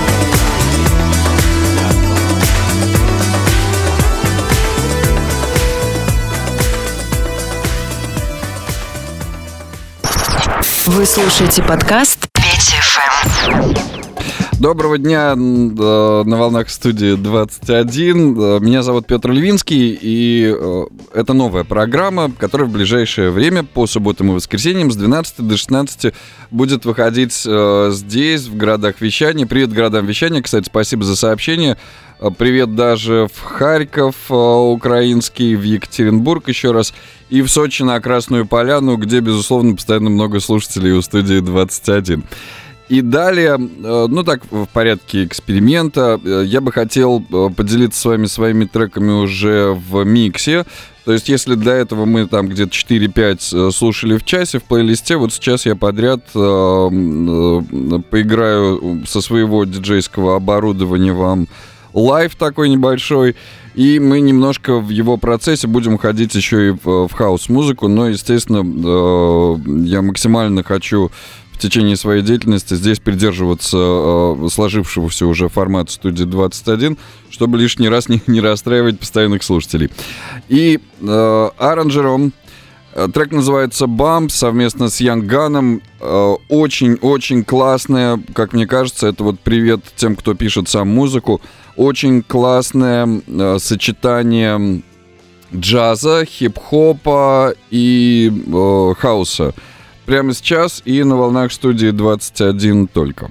Вы слушаете подкаст Петя эф эм. Доброго дня на волнах студии двадцать один. Меня зовут Петр Левинский, и это новая программа, которая в ближайшее время по субботам и воскресеньям с двенадцати до шестнадцати будет выходить здесь, в городах вещания. Привет городам вещания, кстати, спасибо за сообщение. Привет даже в Харьков украинский, в Екатеринбург еще раз, и в Сочи на Красную Поляну, где, безусловно, постоянно много слушателей у студии двадцать один. И далее, ну так, в порядке эксперимента, я бы хотел поделиться с вами своими треками уже в миксе. То есть, если до этого мы там где-то четыре-пять слушали в часе в плейлисте, вот сейчас я подряд э, э, поиграю со своего диджейского оборудования вам лайв такой небольшой, и мы немножко в его процессе будем уходить еще и в, в хаус-музыку, но, естественно, э, я максимально хочу в течение своей деятельности здесь придерживаться э, сложившегося уже формата студии двадцать один, чтобы лишний раз не, не расстраивать постоянных слушателей. И э, аранжером э, трек называется «Bump» совместно с Young Gun'ом. Э, очень-очень классная, как мне кажется, это вот привет тем, кто пишет сам музыку. Очень классное э, сочетание джаза, хип-хопа и э, хауса. Прямо сейчас и на волнах студии двадцать один только.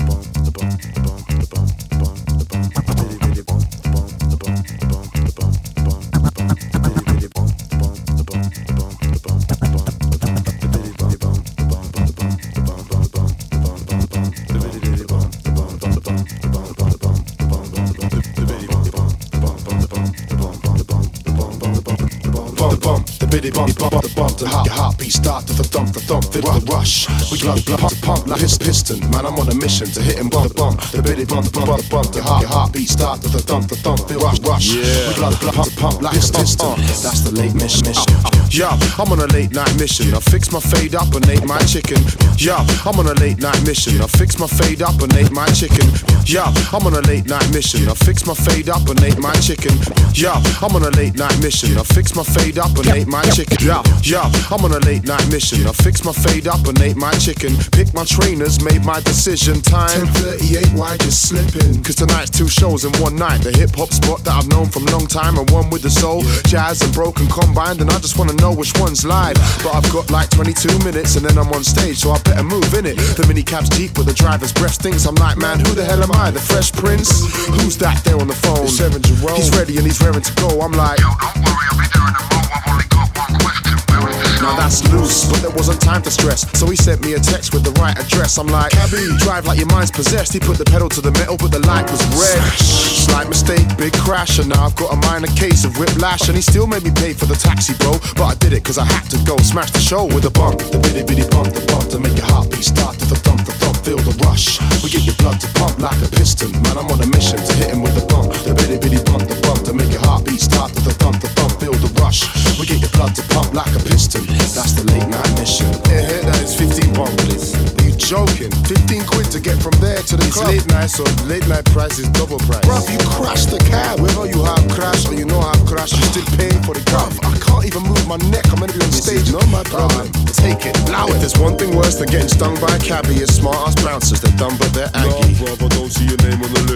Biddy bump, bump, bump, bump, the heart, your heartbeat start to the thump, the thump, feel the rush. We blood, blood, pump, pump like his piston. Man, I'm on a mission to hit him with the bump. The biddy bump, bump, bump, bump, the heart, your heartbeat start to the thump, the thump, feel the rush. Yeah. We blood, blood, pump, pump like his piston. That's the late mission. Yeah, I'm on a late night mission. I fix my fade up and ate my chicken. Yeah, I'm on a late night mission. I fix my fade up and ate my chicken. Yeah, I'm on a late night mission. I fix my fade up and ate my chicken. Yeah, I'm on a late night mission. I fix my fade up and ate my chicken. Yeah, yeah, I'm on a late night mission. I fix my fade up and ate my chicken. Pick my trainers, made my decision. Time ten thirty-eight, why you slipping? Cause tonight's two shows in one night. The hip hop spot that I've known from long time, and one with the soul, jazz and broken combined. And I just wanna know which one's live. But I've got like twenty-two minutes and then I'm on stage, so I better move in it. The minicab's Jeep with the driver's breath stinks. I'm like, man, who the hell am I? The Fresh Prince? Who's that there on the phone? Seven Jerome. He's ready and he's raring to go. I'm like, yo, don't worry, I'll be there in a mo. I've only got one question. Where is this? Now that's loose, but there wasn't time to stress. So he sent me a text with the right address. I'm like, cabby, drive like your mind's possessed. He put the pedal to the metal, but the light was red. Slight mistake, big crash, and now I've got a minor case of whiplash. And he still made me pay for the taxi, bro. But I did it cause I had to go. Smash the show with a bump. The bitty bitty bump, the bump to make your heartbeat start to the thump, the thump, feel the rush. We get your blood to pump like a piston. Man, I'm on a mission to hit him with a bump. The bitty bitty bump, the bump to make your heartbeat start to the thump, the thump, feel the rush. We get your blood to pump like a piston. That's the late night mission. Yeah, yeah, that is fifteen bump, please. Are you joking? fifteen quid to get from there to the it's club. Late night, so late night price is double price. Bruv, you crashed the cab. Whether you have crashed or you know I've crashed, you still paying for the car. I can't even move my neck. I'm gonna be on stage. Not my problem. Take it, allow it. If there's one thing worse than getting stung by a cabbie, it's smart ass bouncers. They're dumb but they're aggy. No, brother, don't see your name on the list.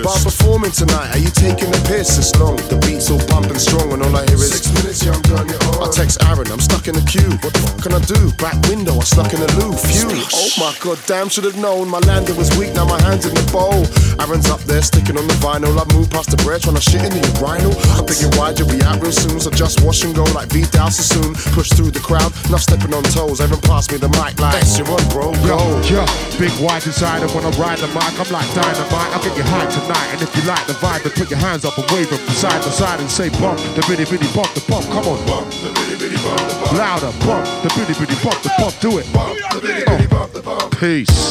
But I'm performing tonight, are you taking the piss? It's long, the beat's all pumping strong and all I hear is six minutes, young gun, you're on. I text Aaron, I'm stuck in the queue. What the fuck can I do? Back window, I stuck in the loo. Phew. Oh my god, damn, should have known. My landing was weak, now my hand's in the bowl. Aaron's up there, sticking on the vinyl. I moved past the bread, trying to shit in the urinal. I'm thinking, why'd you be out real soon? So just wash and go like Vidal Sassoon. Push through the crowd, not stepping on toes. Aaron passed me the mic like, yes, you're on, bro, go. Yo, yo, big wide designer when I ride the mic. I'm like dynamite, I'll get you high tonight. And if you like the vibe, then put your hands up and wave them from side to side and say bump, the bitty bitty bump, the bump, come on. Bump, the bitty bitty bump, the bump. Louder, bump, the bitty bitty bump, the bump, do it. Bump, the bitty bitty bump, the bump. Peace.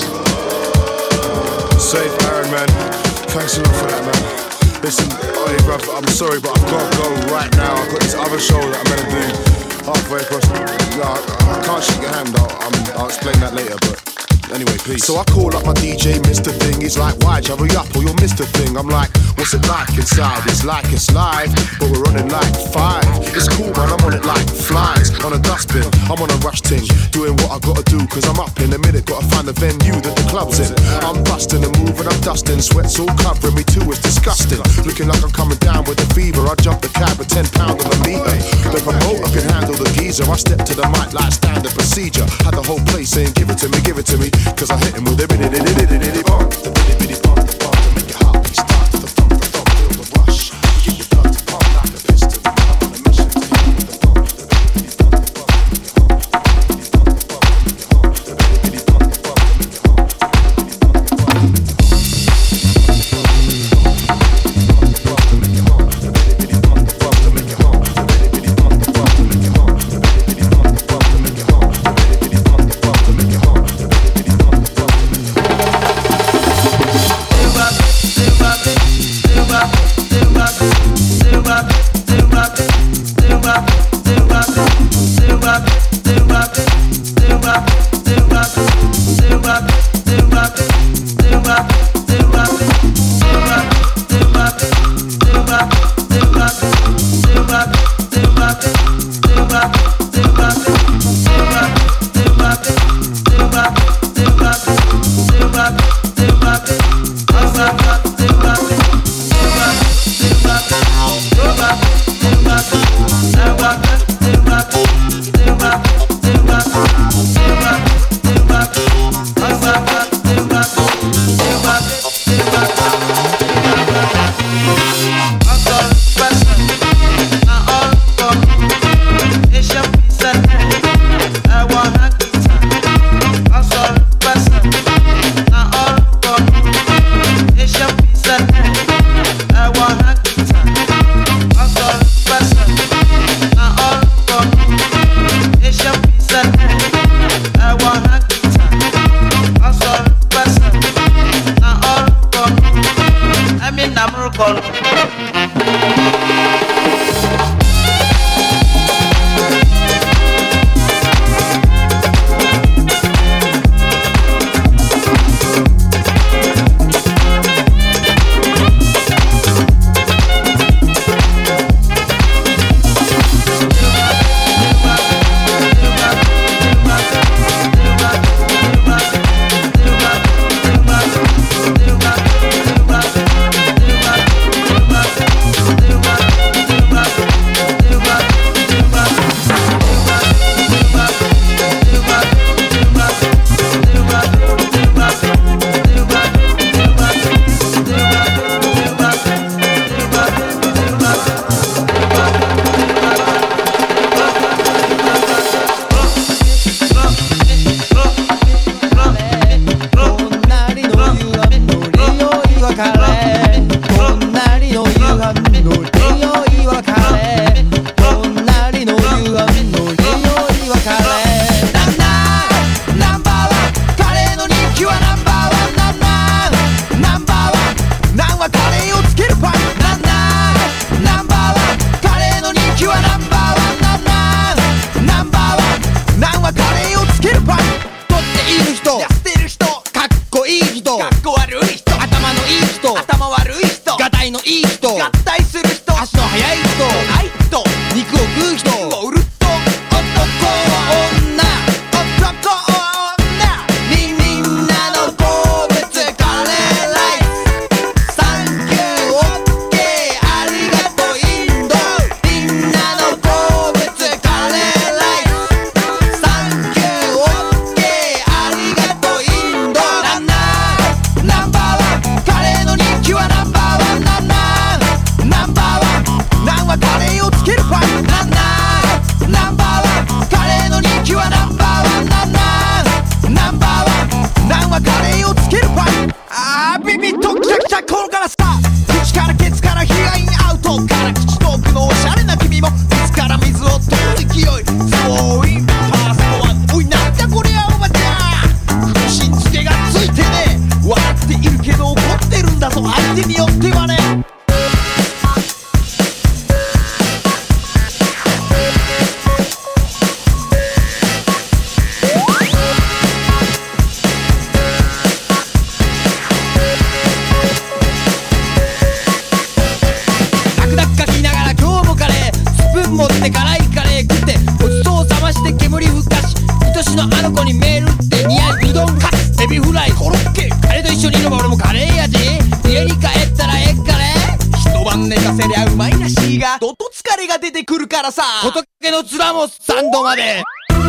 Safe Aaron, man. Thanks a lot for that, man. Listen, hey, bruv, I'm sorry, but I've got to go right now. I've got this other show that I'm gonna do halfway across. No, I, I can't shake your hand. I'll, I'm, I'll explain that later, but anyway, peace. So I call up my D J, Mister Thing. He's like, why, hurry up or you'll miss the thing. I'm like, what's it like inside? It's like it's live, but we're running like five. It's cool, man, I'm on it like flies. On a dustbin, I'm on a rush ting. Doing what I gotta do, cause I'm up in a minute. Gotta find the venue that the club's in. I'm busting and moving, I'm dusting. Sweat's all covering me too, it's disgusting. Looking like I'm coming down with a fever. I jump the cab at ten pounds on the meter. The promoter can handle the geezer. I step to the mic like standard procedure. Had the whole place saying, give it to me, give it to me. Cause I hit him with a bitty bitty bitty bitty bump. The bitty bitty bump, the bump to make your heartbeat start to the thump, the thump, feel the rush. Get your blood to pump like a piston. I'm on a mission to hit the thump. The bitty bitty bump, the bump to make your heart. The bitty bitty bump, the bump to make your heart. Thank you. からさ仏の面も三度まで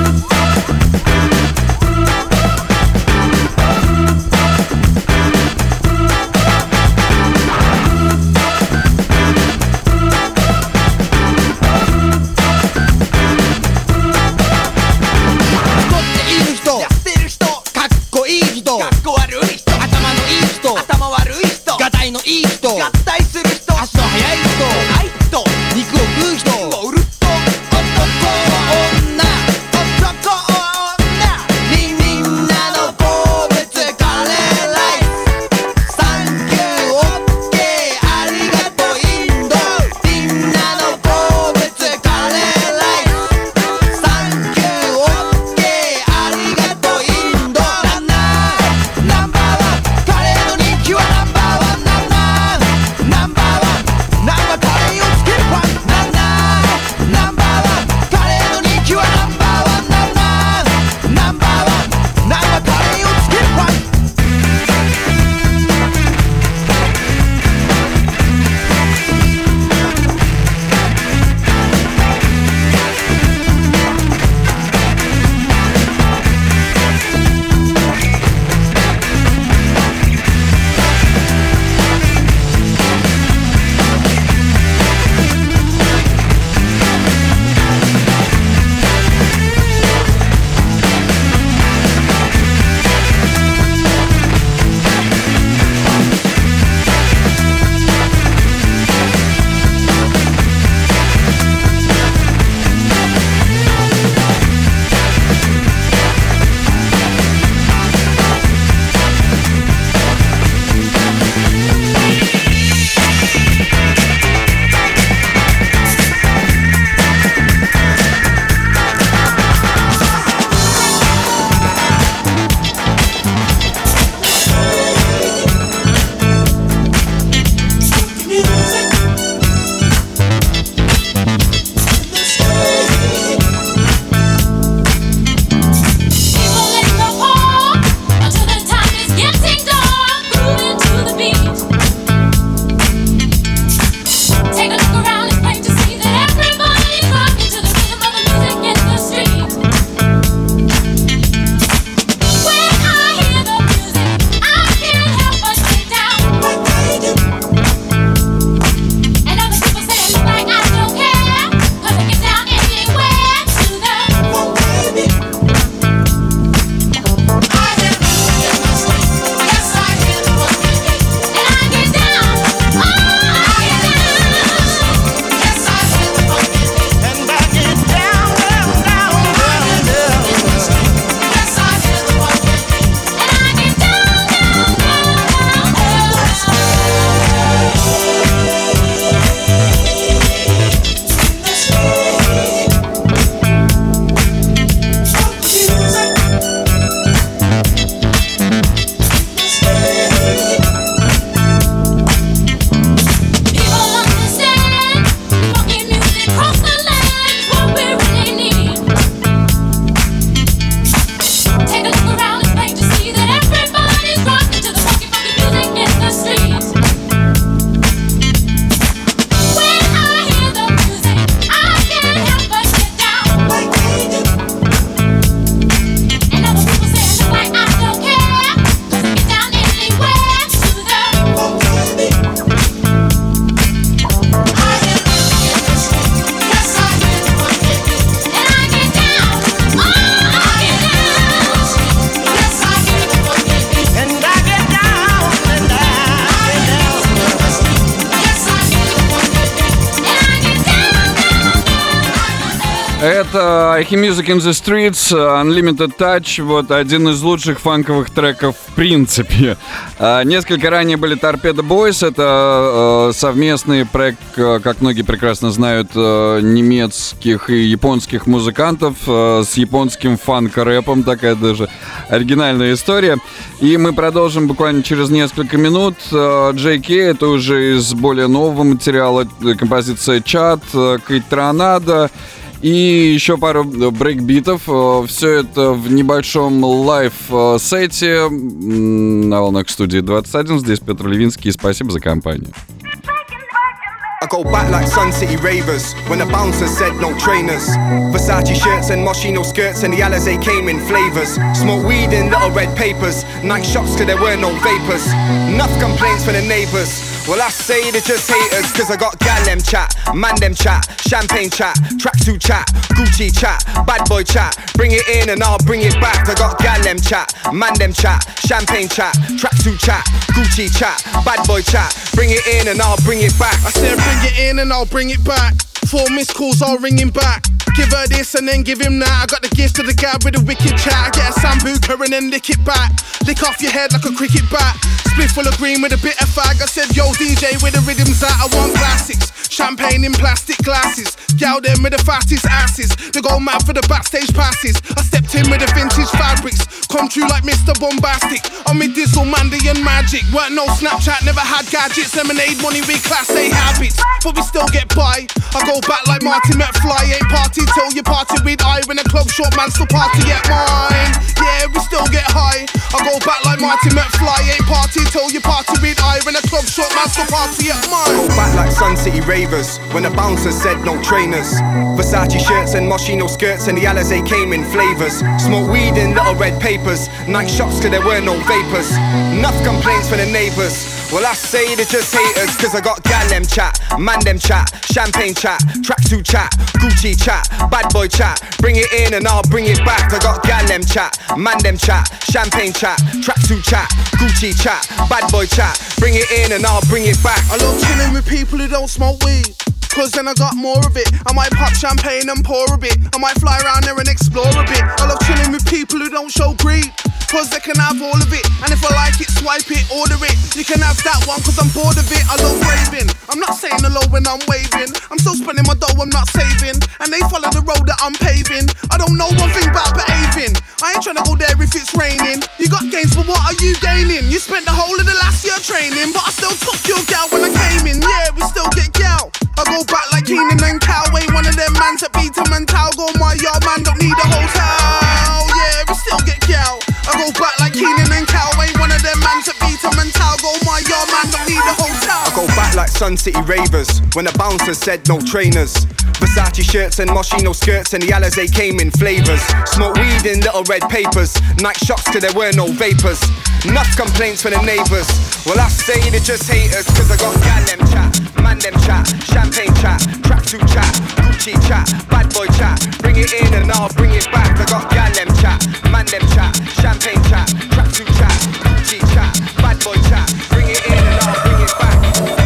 のいい人合体する人足の速い人ない人肉を食う人ウルト男女男女みみんなの好物カレーライスサンキューオッケーありがとうインドみんなの好物カレーライスサンキューオッケーありがとうインドナンナーナンバーワンカレーの人気はナンバーワンナンバーワンナンバーカレーをつけるパンナンナーナンバーワンカレーの人気はナンバーワンナンナーナンバーワンナンバーカレーをつけるパン Это I Hear Music in the Streets, Unlimited Touch, вот один из лучших фанковых треков в принципе. Несколько ранее были Torpedo Boys, это совместный проект, как многие прекрасно знают, немецких и японских музыкантов с японским фанк-рэпом, такая даже оригинальная история. И мы продолжим буквально через несколько минут. джей кей, это уже из более нового материала, композиция «Чат», «Кейт Тронадо», и еще пару брейкбитов. Все это в небольшом лайв-сете на волнах студии двадцать один. Здесь Петр Левинский. Спасибо за компанию. I go back like Sun City Ravers when the bouncer said no trainers. Versace shirts and Moschino skirts and the Alizé came in flavors. Smoke weed in little red papers. Night shots cause there were no vapors. Enough complaints from the neighbours. Well, I say they're just haters, cause I got gal them chat, man them chat, champagne chat, tracksuit chat, Gucci chat, bad boy chat. Bring it in and I'll bring it back. I got gal them chat, man them chat, champagne chat, tracksuit chat, Gucci chat, bad boy chat. Bring it in and I'll bring it back. I said bring it in and I'll bring it back. Four missed calls, I'll ring him back. Give her this and then give him that. I got the gift to the guy with a wicked chat. I get a sambuca and then lick it back. Lick off your head like a cricket bat. Split full of green with a bit of fag. I said, yo D J, where the rhythm's at? I want classics. Champagne in plastic glasses. Gal them with the fattest asses. They go mad for the backstage passes. I stepped in with the vintage fabrics. Come true like Mister Bombastic. I'm with Dizzle, Mandy and Magic. Weren't no Snapchat, never had gadgets. Lemonade money with class A habits. But we still get by. I go back like Marty McFly. Ain't party till you party with I. When a club short man still party at mine. Yeah, we still get high. I go back like Marty McFly. Ain't party till you party with I. When a club short man still party at mine. I go back like Sun City Ravers when the bouncer said no trainers. Versace shirts and Moschino skirts and the Alizé came in flavors. Smoke weed in little red papers. Night shots cause there were no vapors. Enough complaints from the neighbours. Well, I say they're just haters, cause I got gal them chat, man them chat, champagne chat, tracksuit chat, Gucci chat, bad boy chat. Bring it in and I'll bring it back. I got gal them chat, man them chat, champagne chat, tracksuit chat, Gucci chat, bad boy chat. Bring it in and I'll bring it back. I love chilling with people who don't smoke weed, cause then I got more of it. I might pop champagne and pour a bit. I might fly around there and explore a bit. I love chilling with people who don't show greed, cause they can have all of it. And if I like it, swipe it, order it. You can have that one cause I'm bored of it. I love raving. I'm not saying hello when I'm waving. I'm still spending my dough, I'm not saving. And they follow the road that I'm paving. I don't know one thing about behaving. I ain't tryna go there if it's raining. You got gains, but what are you gaining? You spent the whole of the last year training, but I still took your gal when I came in. Yeah, we still get gal. I go back like Keenan and Cal. Ain't one of them mans that beat them and towel. Go my yard man, don't need a hotel. Yeah, we still get gal. I go back like Keenan and Cal. Ain't one of them mans that beat them and towel. Go my yard man, don't need a hotel. I go back like Sun City Ravers when the bouncer said no trainers. Versace shirts and Moschino skirts and the Alizé came in flavors. Smoke weed in little red papers. Night shots cause there were no vapors. Enough complaints from the neighbours. Well, I say they're just haters, cause I got gal them chat, man them chat, champagne chat, tracksuit chat, Gucci chat, bad boy chat. Bring it in and I'll bring it back. I got gal them chat, man them chat, champagne chat, tracksuit chat, Gucci chat, bad boy chat. Bring it in and I'll bring it back.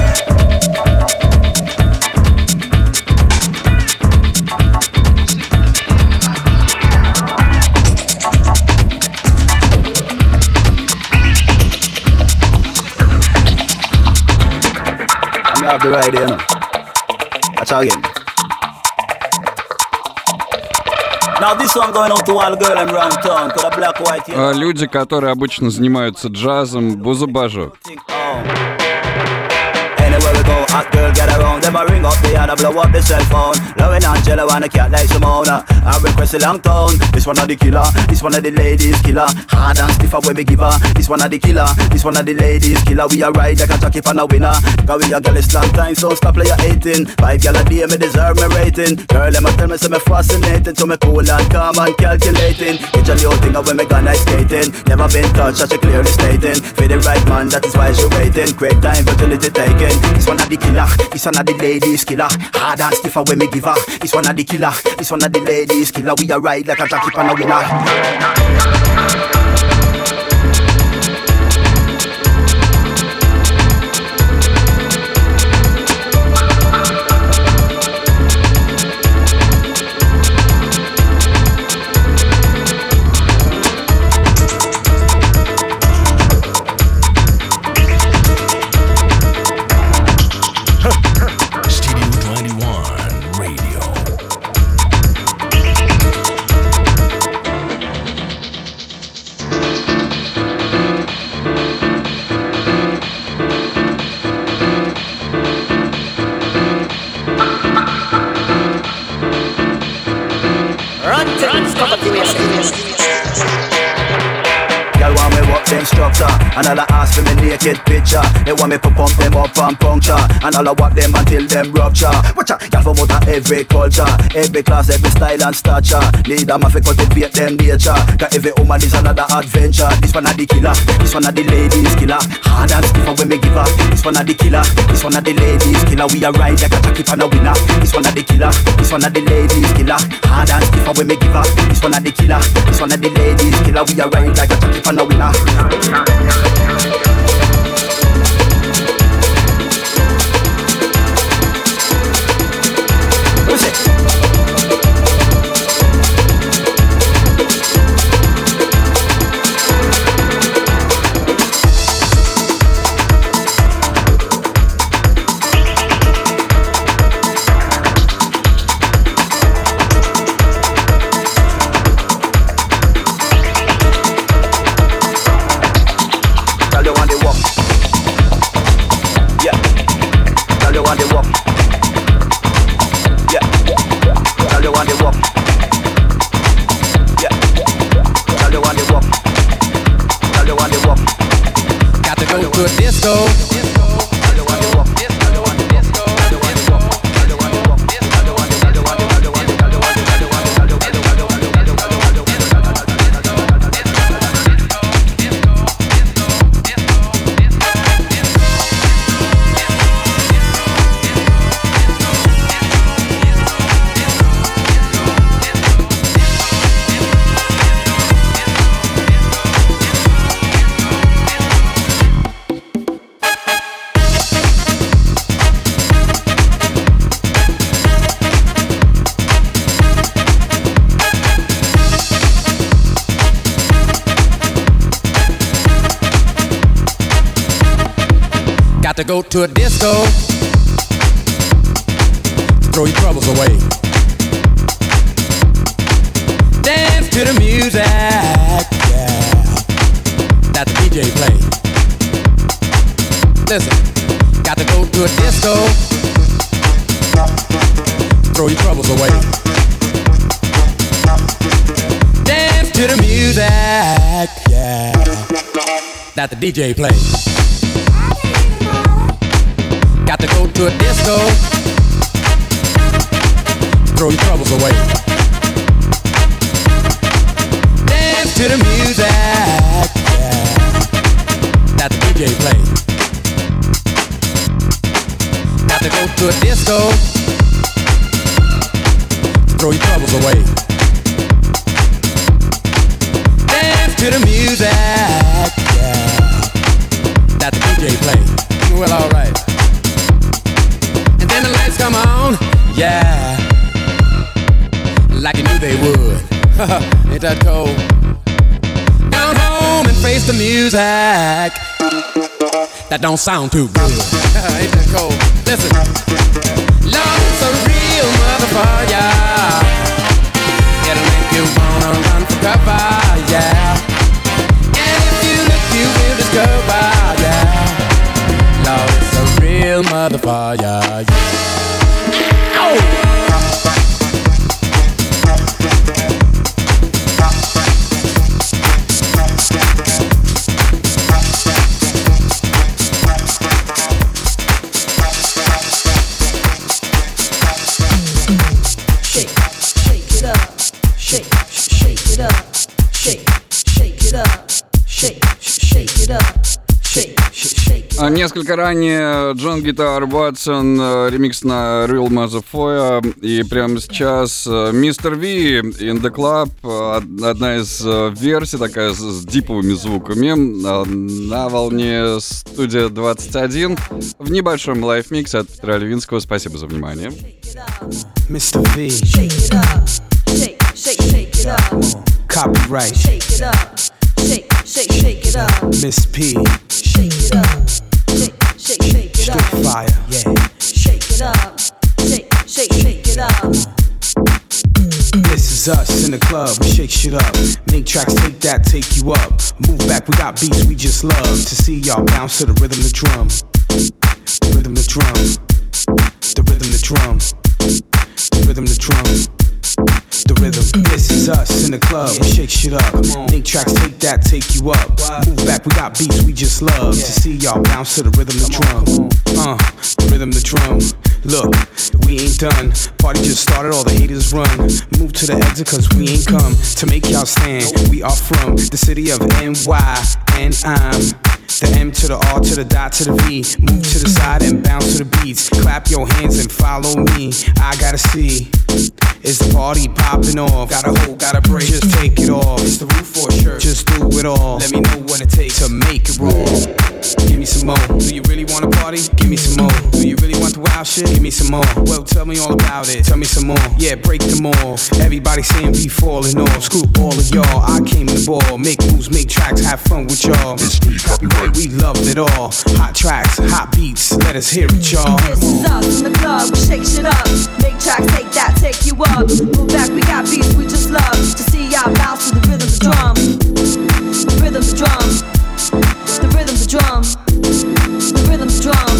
I have the right here now. That's how again. Now this one going out to all the girl I'm around town, to the black white. You know? Люди, которые обычно занимаются джазом, бузубажу. Anywhere we go, hot girl get around. Them a ring up the other, blow up the cell phone. Loving Angela and a cat like Simona. I request a long tone. This one of the killer, this one of the ladies killer. Hard and stiff when we give her. This one of the killer, this one of the ladies killer. We are right like a jockey for a winner. Cause we a girl is long time, so stop play your hating. Five gal a day, me deserve me rating. Girl, them a tell me say me fascinating. So me cool and calm and calculating. It's a little thing of when me gone ice skating. Never been touched, as she clearly stating. For the right man, that is why she waiting. Great time, fertility taken. This one of the killer, this one of the ladies killer. Hard and stiffer when me give her. This one of the killer, this one of the ladies killer. We are ride like a jockey for a winner. And all I ask for me naked picture. They want me to pump them up and puncture. And all I walk them until them rupture. Watch out, y'all from out of every culture, every class, every style and stature. Need them to cultivate them nature. Cause every woman is another adventure. This one of the killer, this one of the ladies killer. Hard and stiffer when me give her. This one of the killer, this one of the ladies killer. We are ride like a jockey for a winner. This one of the killer, this one of the ladies killer. Hard and stiffer when me give her. This one of the killer, this one of the ladies killer. We are ride like a jockey for a winner. What's it? Got to go to a disco, throw your troubles away. Dance to the music, yeah, that the D J play. Listen, got to go to a disco, throw your troubles away. Dance to the music, yeah, that the D J play. Got to go to a disco, throw your troubles away. Dance to the music, yeah, that the D J play. Got to go to a disco, throw your troubles away. Dance to the music, yeah, that the D J play. Well, alright. And the lights come on, yeah, like you knew they would. Ain't that cold? Down home and face the music that don't sound too good. Ain't that cold? Listen, love is a real motherfucker. It'll make you wanna run for cover, yeah. And if you look, you will discover, yeah. Love is a real motherfucker, yeah. Ow! Несколько ранее Джон Гитар Ватсон, ремикс на Real Motherfucker. И прямо сейчас мистер Ви in the Club, одна из версий, такая с диповыми звуками, на волне студия двадцать один в небольшом лайф-миксе от Петра Левинского. Спасибо за внимание. мистер Ви. Copyright. Shake it up. Shake, shake, shake it up. Miss P. Shake it up. Shake, shake, shake it up. Straight fire. Yeah. Shake it up. Shake, shake, shake it up. This is us in the club. We shake shit up. Make tracks, take that, take you up. Move back, we got beats we just love to see y'all bounce to the rhythm, the drum. The rhythm, the drum. The rhythm, the drum. The rhythm, the drum. the rhythm. This is us in the club. Shake shit up. Make tracks, take that, take you up. Move back, we got beats we just love to see y'all bounce to the rhythm, the drum. Uh, the rhythm, the drum. Look, we ain't done. Party just started, all the haters run. Move to the exit cause we ain't come to make y'all stand. We are from the city of N Y, and I'm the M to the R to the dot to the V. Move to the side and bounce to the beats. Clap your hands and follow me. I gotta see, is the party popping off? Gotta hold, gotta break, just take it off. It's the roof for a shirt, just do it all. Let me know what it takes to make it roll. Give me some more. Do you really wanna party? Give me some more. Do you really want the wild shit? Give me some more. Well, tell me all about it. Tell me some more. Yeah, break them all. Everybody saying we falling off. Screw all of y'all. I came to ball. Make moves, make tracks, have fun with y'all. Copyright, we love it all. Hot tracks, hot beats. Let us hear it, y'all. This is us in the club. We shake shit up. Make tracks, take that, take you up. Move back, we got beats we just love to see y'all bounce to the rhythm, the drum. The rhythm, the drum. The rhythm, the drum. The rhythm, the drum.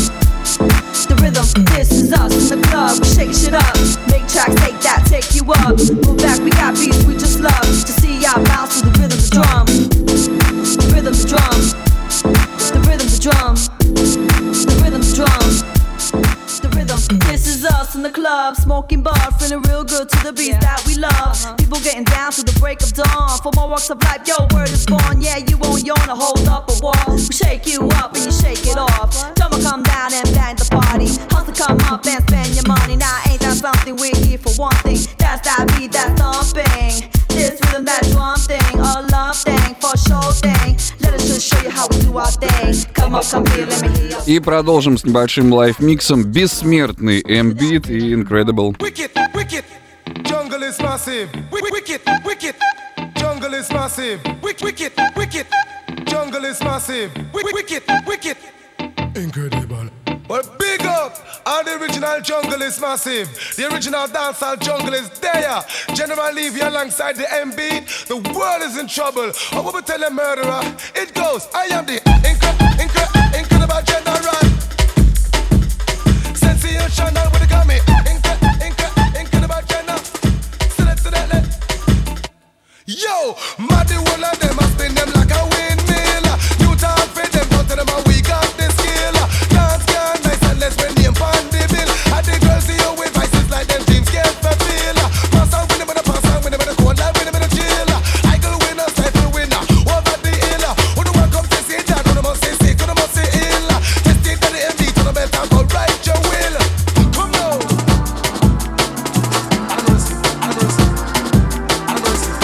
The rhythm. This is us in the club. We shake shit up. Make tracks, take that, take you up. Move back, we got beats we just love to see y'all bounce to the rhythm, the drum. The rhythm, the drum. The rhythm, the drum. The rhythm, the drum. The rhythm. This is us in the club, smoking bar, feeling real good to the beats that we love. People getting down to the break of dawn. For more walks of life, yo, word is born. Yeah, you won't yawn or hold up a wall. We shake you up and you shake it off. Drummer come down and bang the party. Hustle come up and spend your money. Now ain't that something? We're here for one thing. That's that beat, that thumping. This rhythm, that drum thing, a love thing, for sure thing. Let us just show you how we do our thing. Come up, come here, let me hear you. И продолжим с небольшим лайф-миксом. Бессмертный M-Beat и Incredible. Wicked, wicked, jungle is massive. Wicked, wicked, jungle is massive. Wicked, wicked, jungle is massive. Wicked, wicked, incredible. Well, big up! All the original jungle is massive. The original dancehall jungle is there. General Levy alongside the M-Beat. The world is in trouble. I will tell a murderer. It goes, I am the incre- incre- incredible general. Sensational with the gummy. Incre- incre- incredible general. Select, select, select. Yo, mad the one of them, I spin them like a windmill. You talk for them, go to them and we got the skill. Dance can nice and let's win the pan the bill. And the girls see you with vices like them dreams get fulfilled. Pass out with them in the pass out with them in the cold life with them in the chill. I go winner, stifle winner, over the hill. Who the one come to see that, who the must say sick, who the must say ill. Test it to the M D, to the best and go right your will. Come now. I know see, I know see, I know see.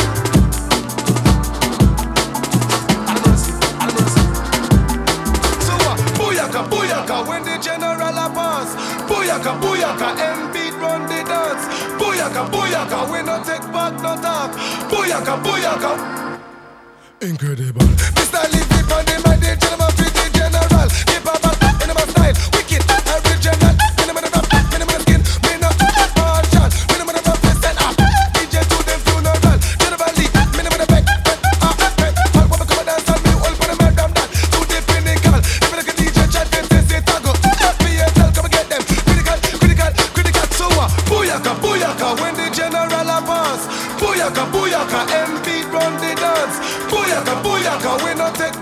Booyaka, booyaka, when the general a pass. Booyaka, booyaka, M-Beat run the dance. Booyaka, booyaka, we no take back, no talk. Booyaka, booyaka. Incredible. Mister Levy on the mic, the gentleman fit the general. Keep a back in my style, wicked, original. Minimum of rap, minimum of skin, minimum of partial, minimum of rap, listen up. D J to them funeral, General Lee, minimum of back, ah, back. All women come and dance on me, all for the madam that. To the pinnacle, if you look at D J chat, them say say tango. F B S L, come and get them. Critical, critical, critical. So uh, booyaka, booyaka, when the general a pass. Booyaka, booyaka, M-Beat run the dance. Booyaka, booyaka, we no take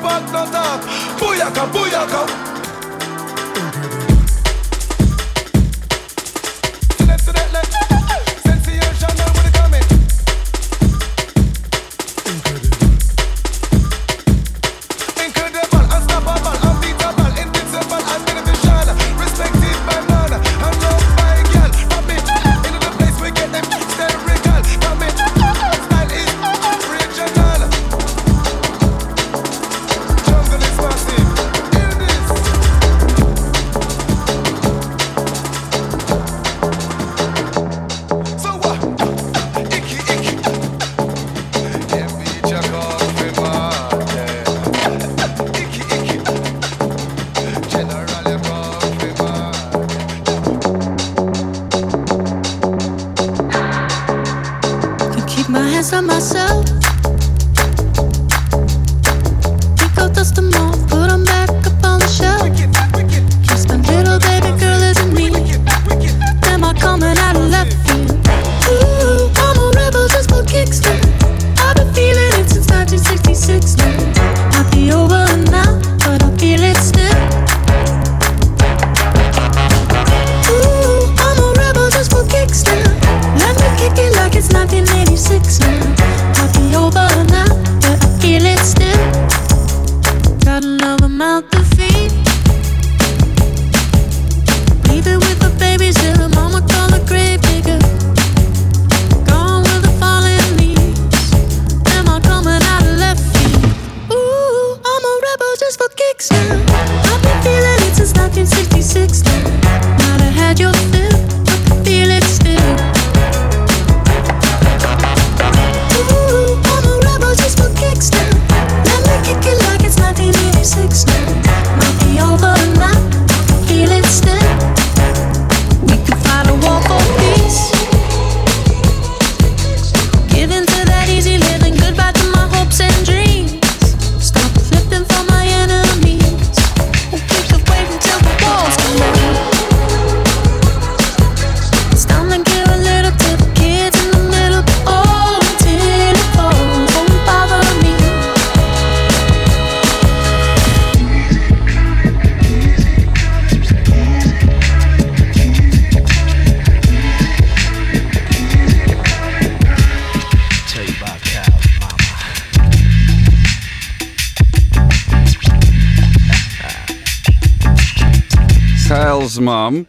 Kyle's mom.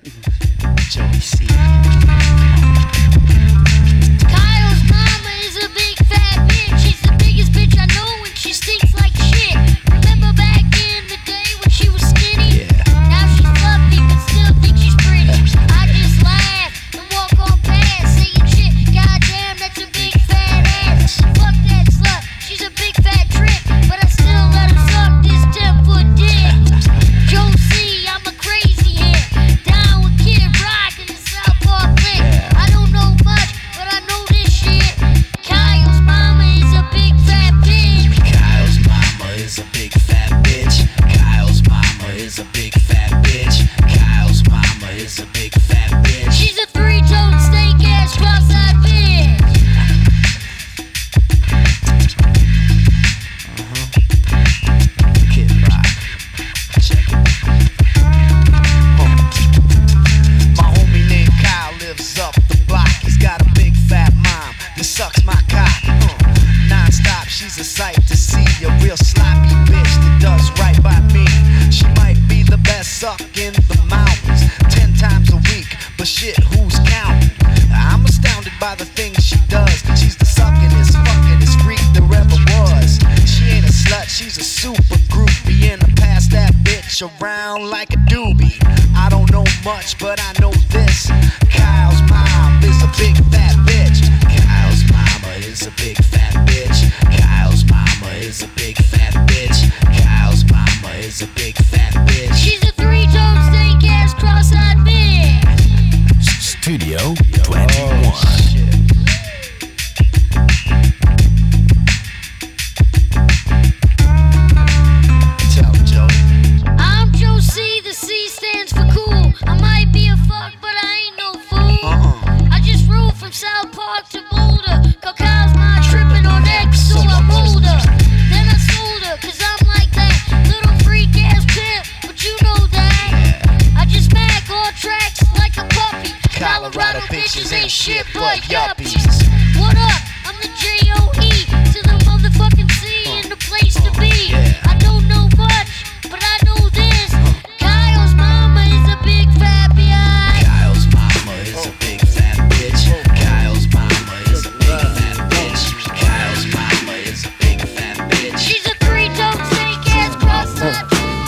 Kyle's mama is a big fat bitch. She's the biggest bitch I know, and she stinks like shit. Remember back in the day when she was skinny? Now she's fluffy, but still think she's pretty. I just laugh and walk on past, saying shit. Goddamn, that's a big fat ass. Fuck that slut. She's a big fat trick, but I still let her suck this ten foot dick. Joe C, I'm a crazy hit. Down with Kid Rock in the South Park clique. I don't know much, but I know this shit. Kyle's mama is a big fat bitch. Kyle's mama is a big fat bitch. Kyle's mama is a big fat bitch. Kyle's mama is a big fat bitch. She's a three-toed steak ass cross-eyed bitch. Kid Rock. Check it. My homie named Kyle lives up the block. He's got a big fat mom that sucks my cock. Uh, non-stop, she's a sight to see. A real sloppy bitch that does right by me. She might be the best suck in the mountains, ten times a week, but shit, who's counting? I'm astounded by the things she does. She's the suckin'est, fuckin'est freak there ever was. She ain't a slut, she's a super groupie, and I pass that bitch around like a doobie. I don't know much, but I know this. Kyle's mom is a big fat bitch. Kyle's mama is a big fat bitch. Kyle's mama is a big fat bitch. Kyle's mama is a big fat bitch. She's a three-toed steak ass cross-eyed bitch. Studio twenty-one. Tell Joe. I'm Joe C, the C stands for cool. I might be a fuck, but I ain't no fool. Uh-uh. I just rode from South Park to Boulder. Cause Kyle's my tripping on X, so I moved her. Then I sold her, cause I'm like that little freak ass pimp, but you know that. I just smack all tracks like a puppy. Colorado bitches ain't shit but yuppies. What up? I'm the J O E to the motherfucking C and the place to be. I don't know much, but I know this. Kyle's mama is a big fat bitch. Kyle's mama is a big fat bitch. Kyle's mama is a big fat bitch. Kyle's mama is a big fat bitch. She's a three-toed steak ass cross-eyed.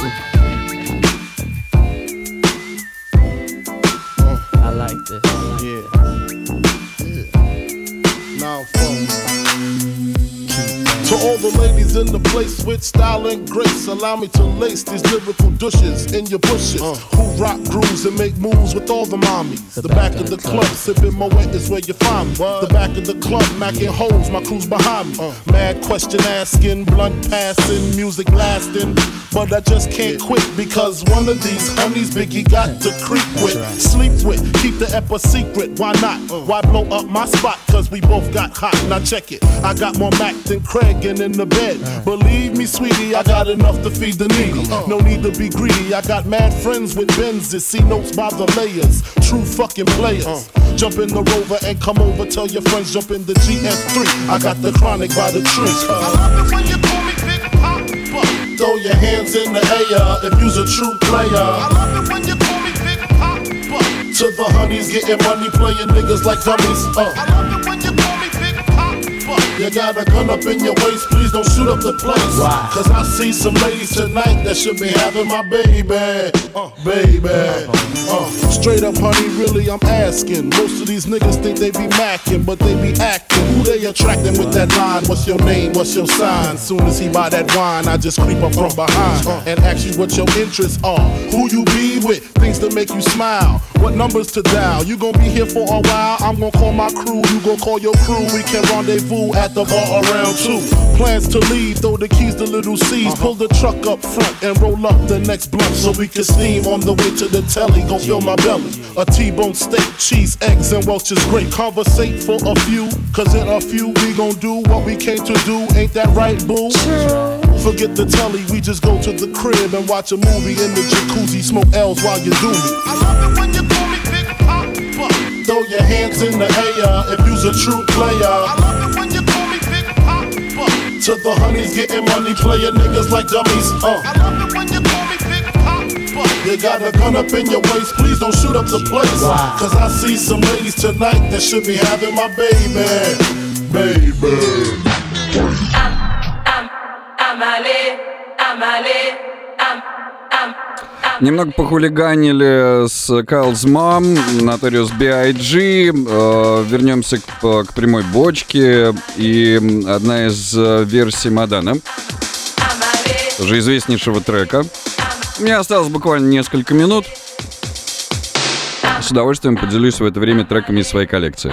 I like this. Yeah. Now, folks. To all the ladies in the place with style and grace, allow me to lace these lyrical douches in your bushes. Uh. Who rock grooves and make moves with all the mommies. The, the back, back of the, the club, club sipping Moet is where you find me. What? The back of the club, macking holes, my crew's behind me. Uh. Mad question asking, blunt passing, music lasting. But I just can't quit because one of these honeys Biggie got to creep with, right. Sleep with, keep the ep a secret. Why not? Uh. Why blow up my spot? Cause we both got hot. Now check it. I got more Mac than Craig in the bed. Uh. Believe me, sweetie, I got enough to feed the needy. Uh. No need to be greedy. I got mad friends with Benzes, see notes by the layers. True fucking players. Uh. Jump in the Rover and come over. Tell your friends jump in the G S three. I got the chronic by the tree. Uh. I love it when you call me Big Papa. Throw your hands in the air if you's a true player. I love it when you call me Big Papa. To the honeys getting money, playing niggas like dummies. Uh. I love it when you call me Big Papa. You got a gun up in your waist, please don't shoot up the place. Wow. Cause I see some ladies tonight that should be having my baby. Uh, baby. Uh, straight up, honey, really, I'm asking. Most of these niggas think they be macking, but they be acting. Who they attracting with that line? What's your name? What's your sign? Soon as he buy that wine, I just creep up from behind and ask you what your interests are. Who you be with? Things that make you smile. What numbers to dial? You gon' be here for a while? I'm gon' call my crew. You gon' call your crew. We can rendezvous at the bar around two. Plans to leave, throw the keys to little C's. Uh-huh. Pull the truck up front and roll up the next blunt so we can steam on the way to the telly. Go fill my belly. A T-bone steak, cheese, eggs, and Welch's grape. Conversate for a few, cause in a few we gon' do what we came to do. Ain't that right, boo? True. Forget the telly, we just go to the crib and watch a movie in the jacuzzi. Smoke L's while you do me. I love it when you call me Big Papa. Throw your hands in the air if you's a true player. I love it when you call me Big Papa. To the honeys getting money, playing niggas like dummies. Uh. I love it when you call me Big Papa. You got a gun up in your waist, please don't shoot up the place. Cause I see some ladies tonight that should be having my baby. Baby. Немного похулиганили с Kyle's Mom, Notorious би ай джи. Э, вернемся к, к прямой бочке. И одна из версий Мадана, тоже известнейшего трека. Мне осталось буквально несколько минут. С удовольствием поделюсь в это время треками из своей коллекции.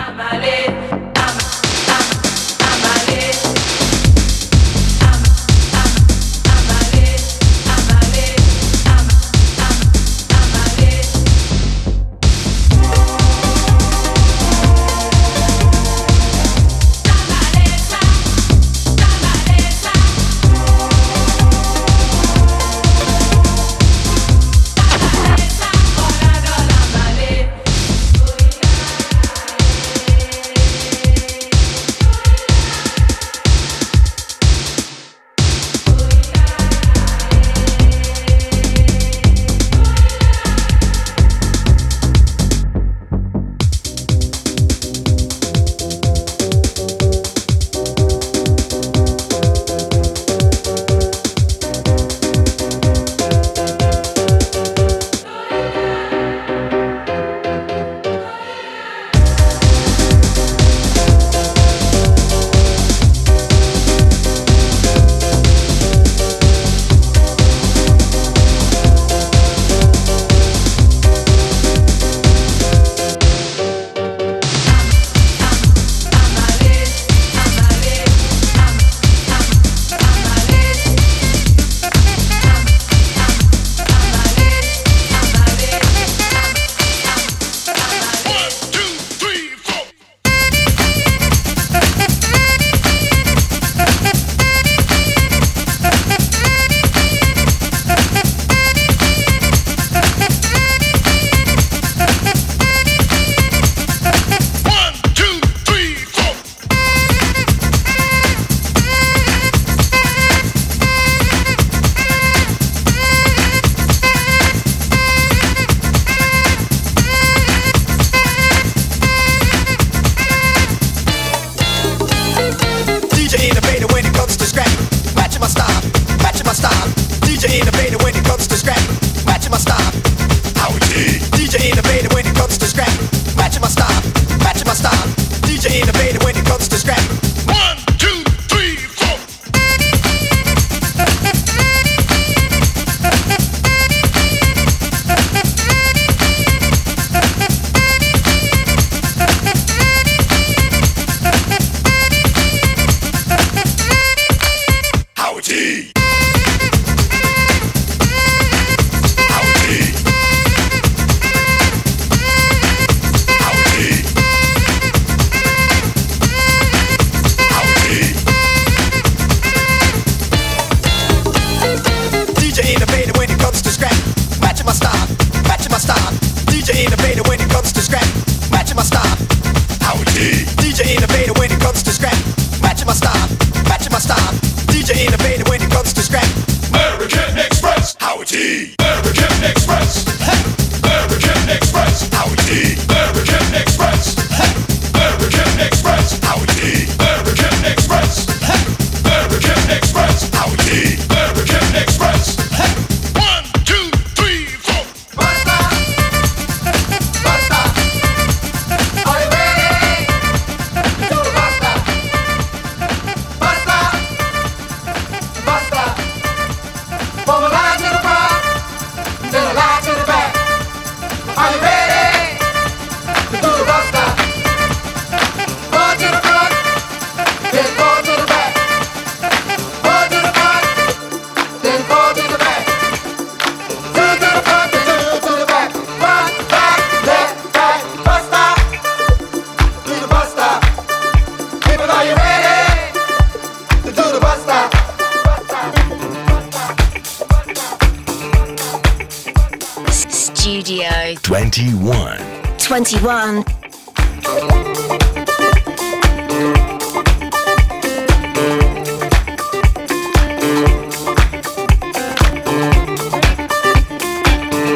twenty-one. twenty-one.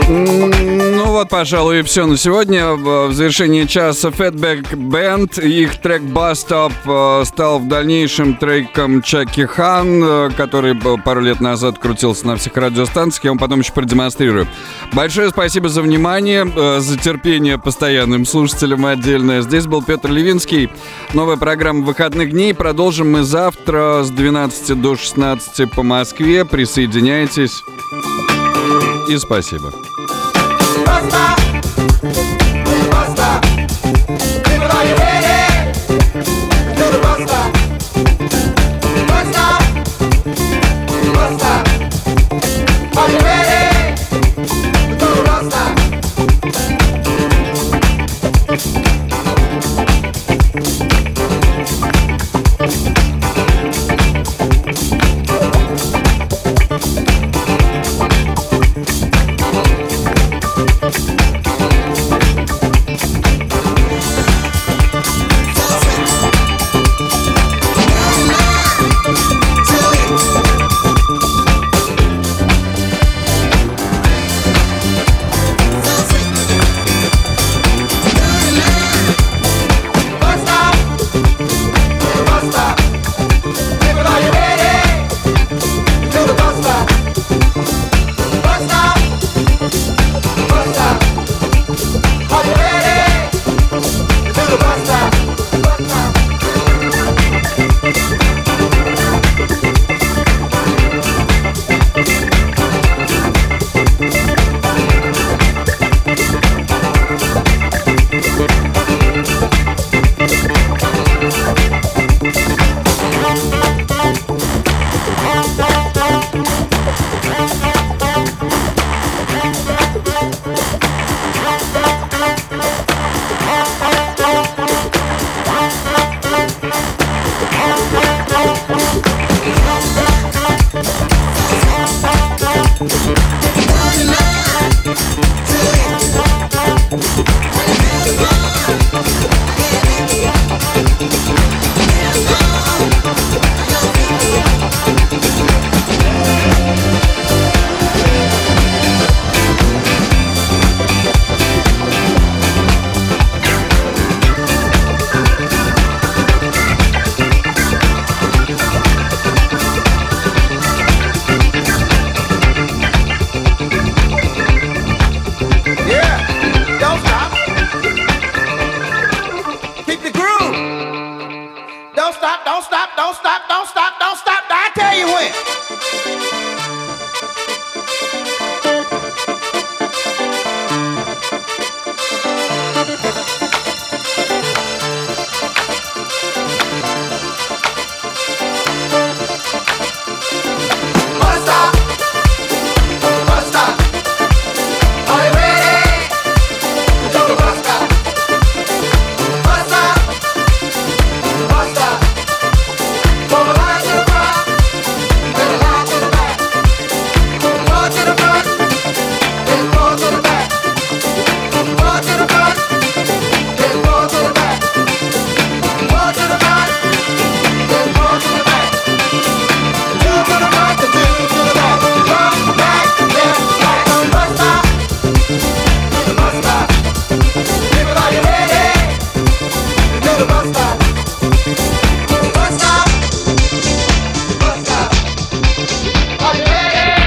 Ну вот, пожалуй, и все на сегодня. В завершении часа Fatback Band. Их трек Bus Stop стал в дальнейшем треком Чаки Хан, который пару лет назад крутился на всех радиостанциях. Я вам потом еще продемонстрирую. Большое спасибо за внимание, за терпение постоянным слушателям отдельное. Здесь был Петр Левинский. Новая программа выходных дней. Продолжим мы завтра с двенадцати до шестнадцати по Москве. Присоединяйтесь. И спасибо. Basta, basta. People, are you ready? Do the basta. Basta, basta. Are you ready? Do the basta.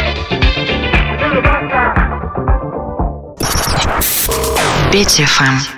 Петя эф эм.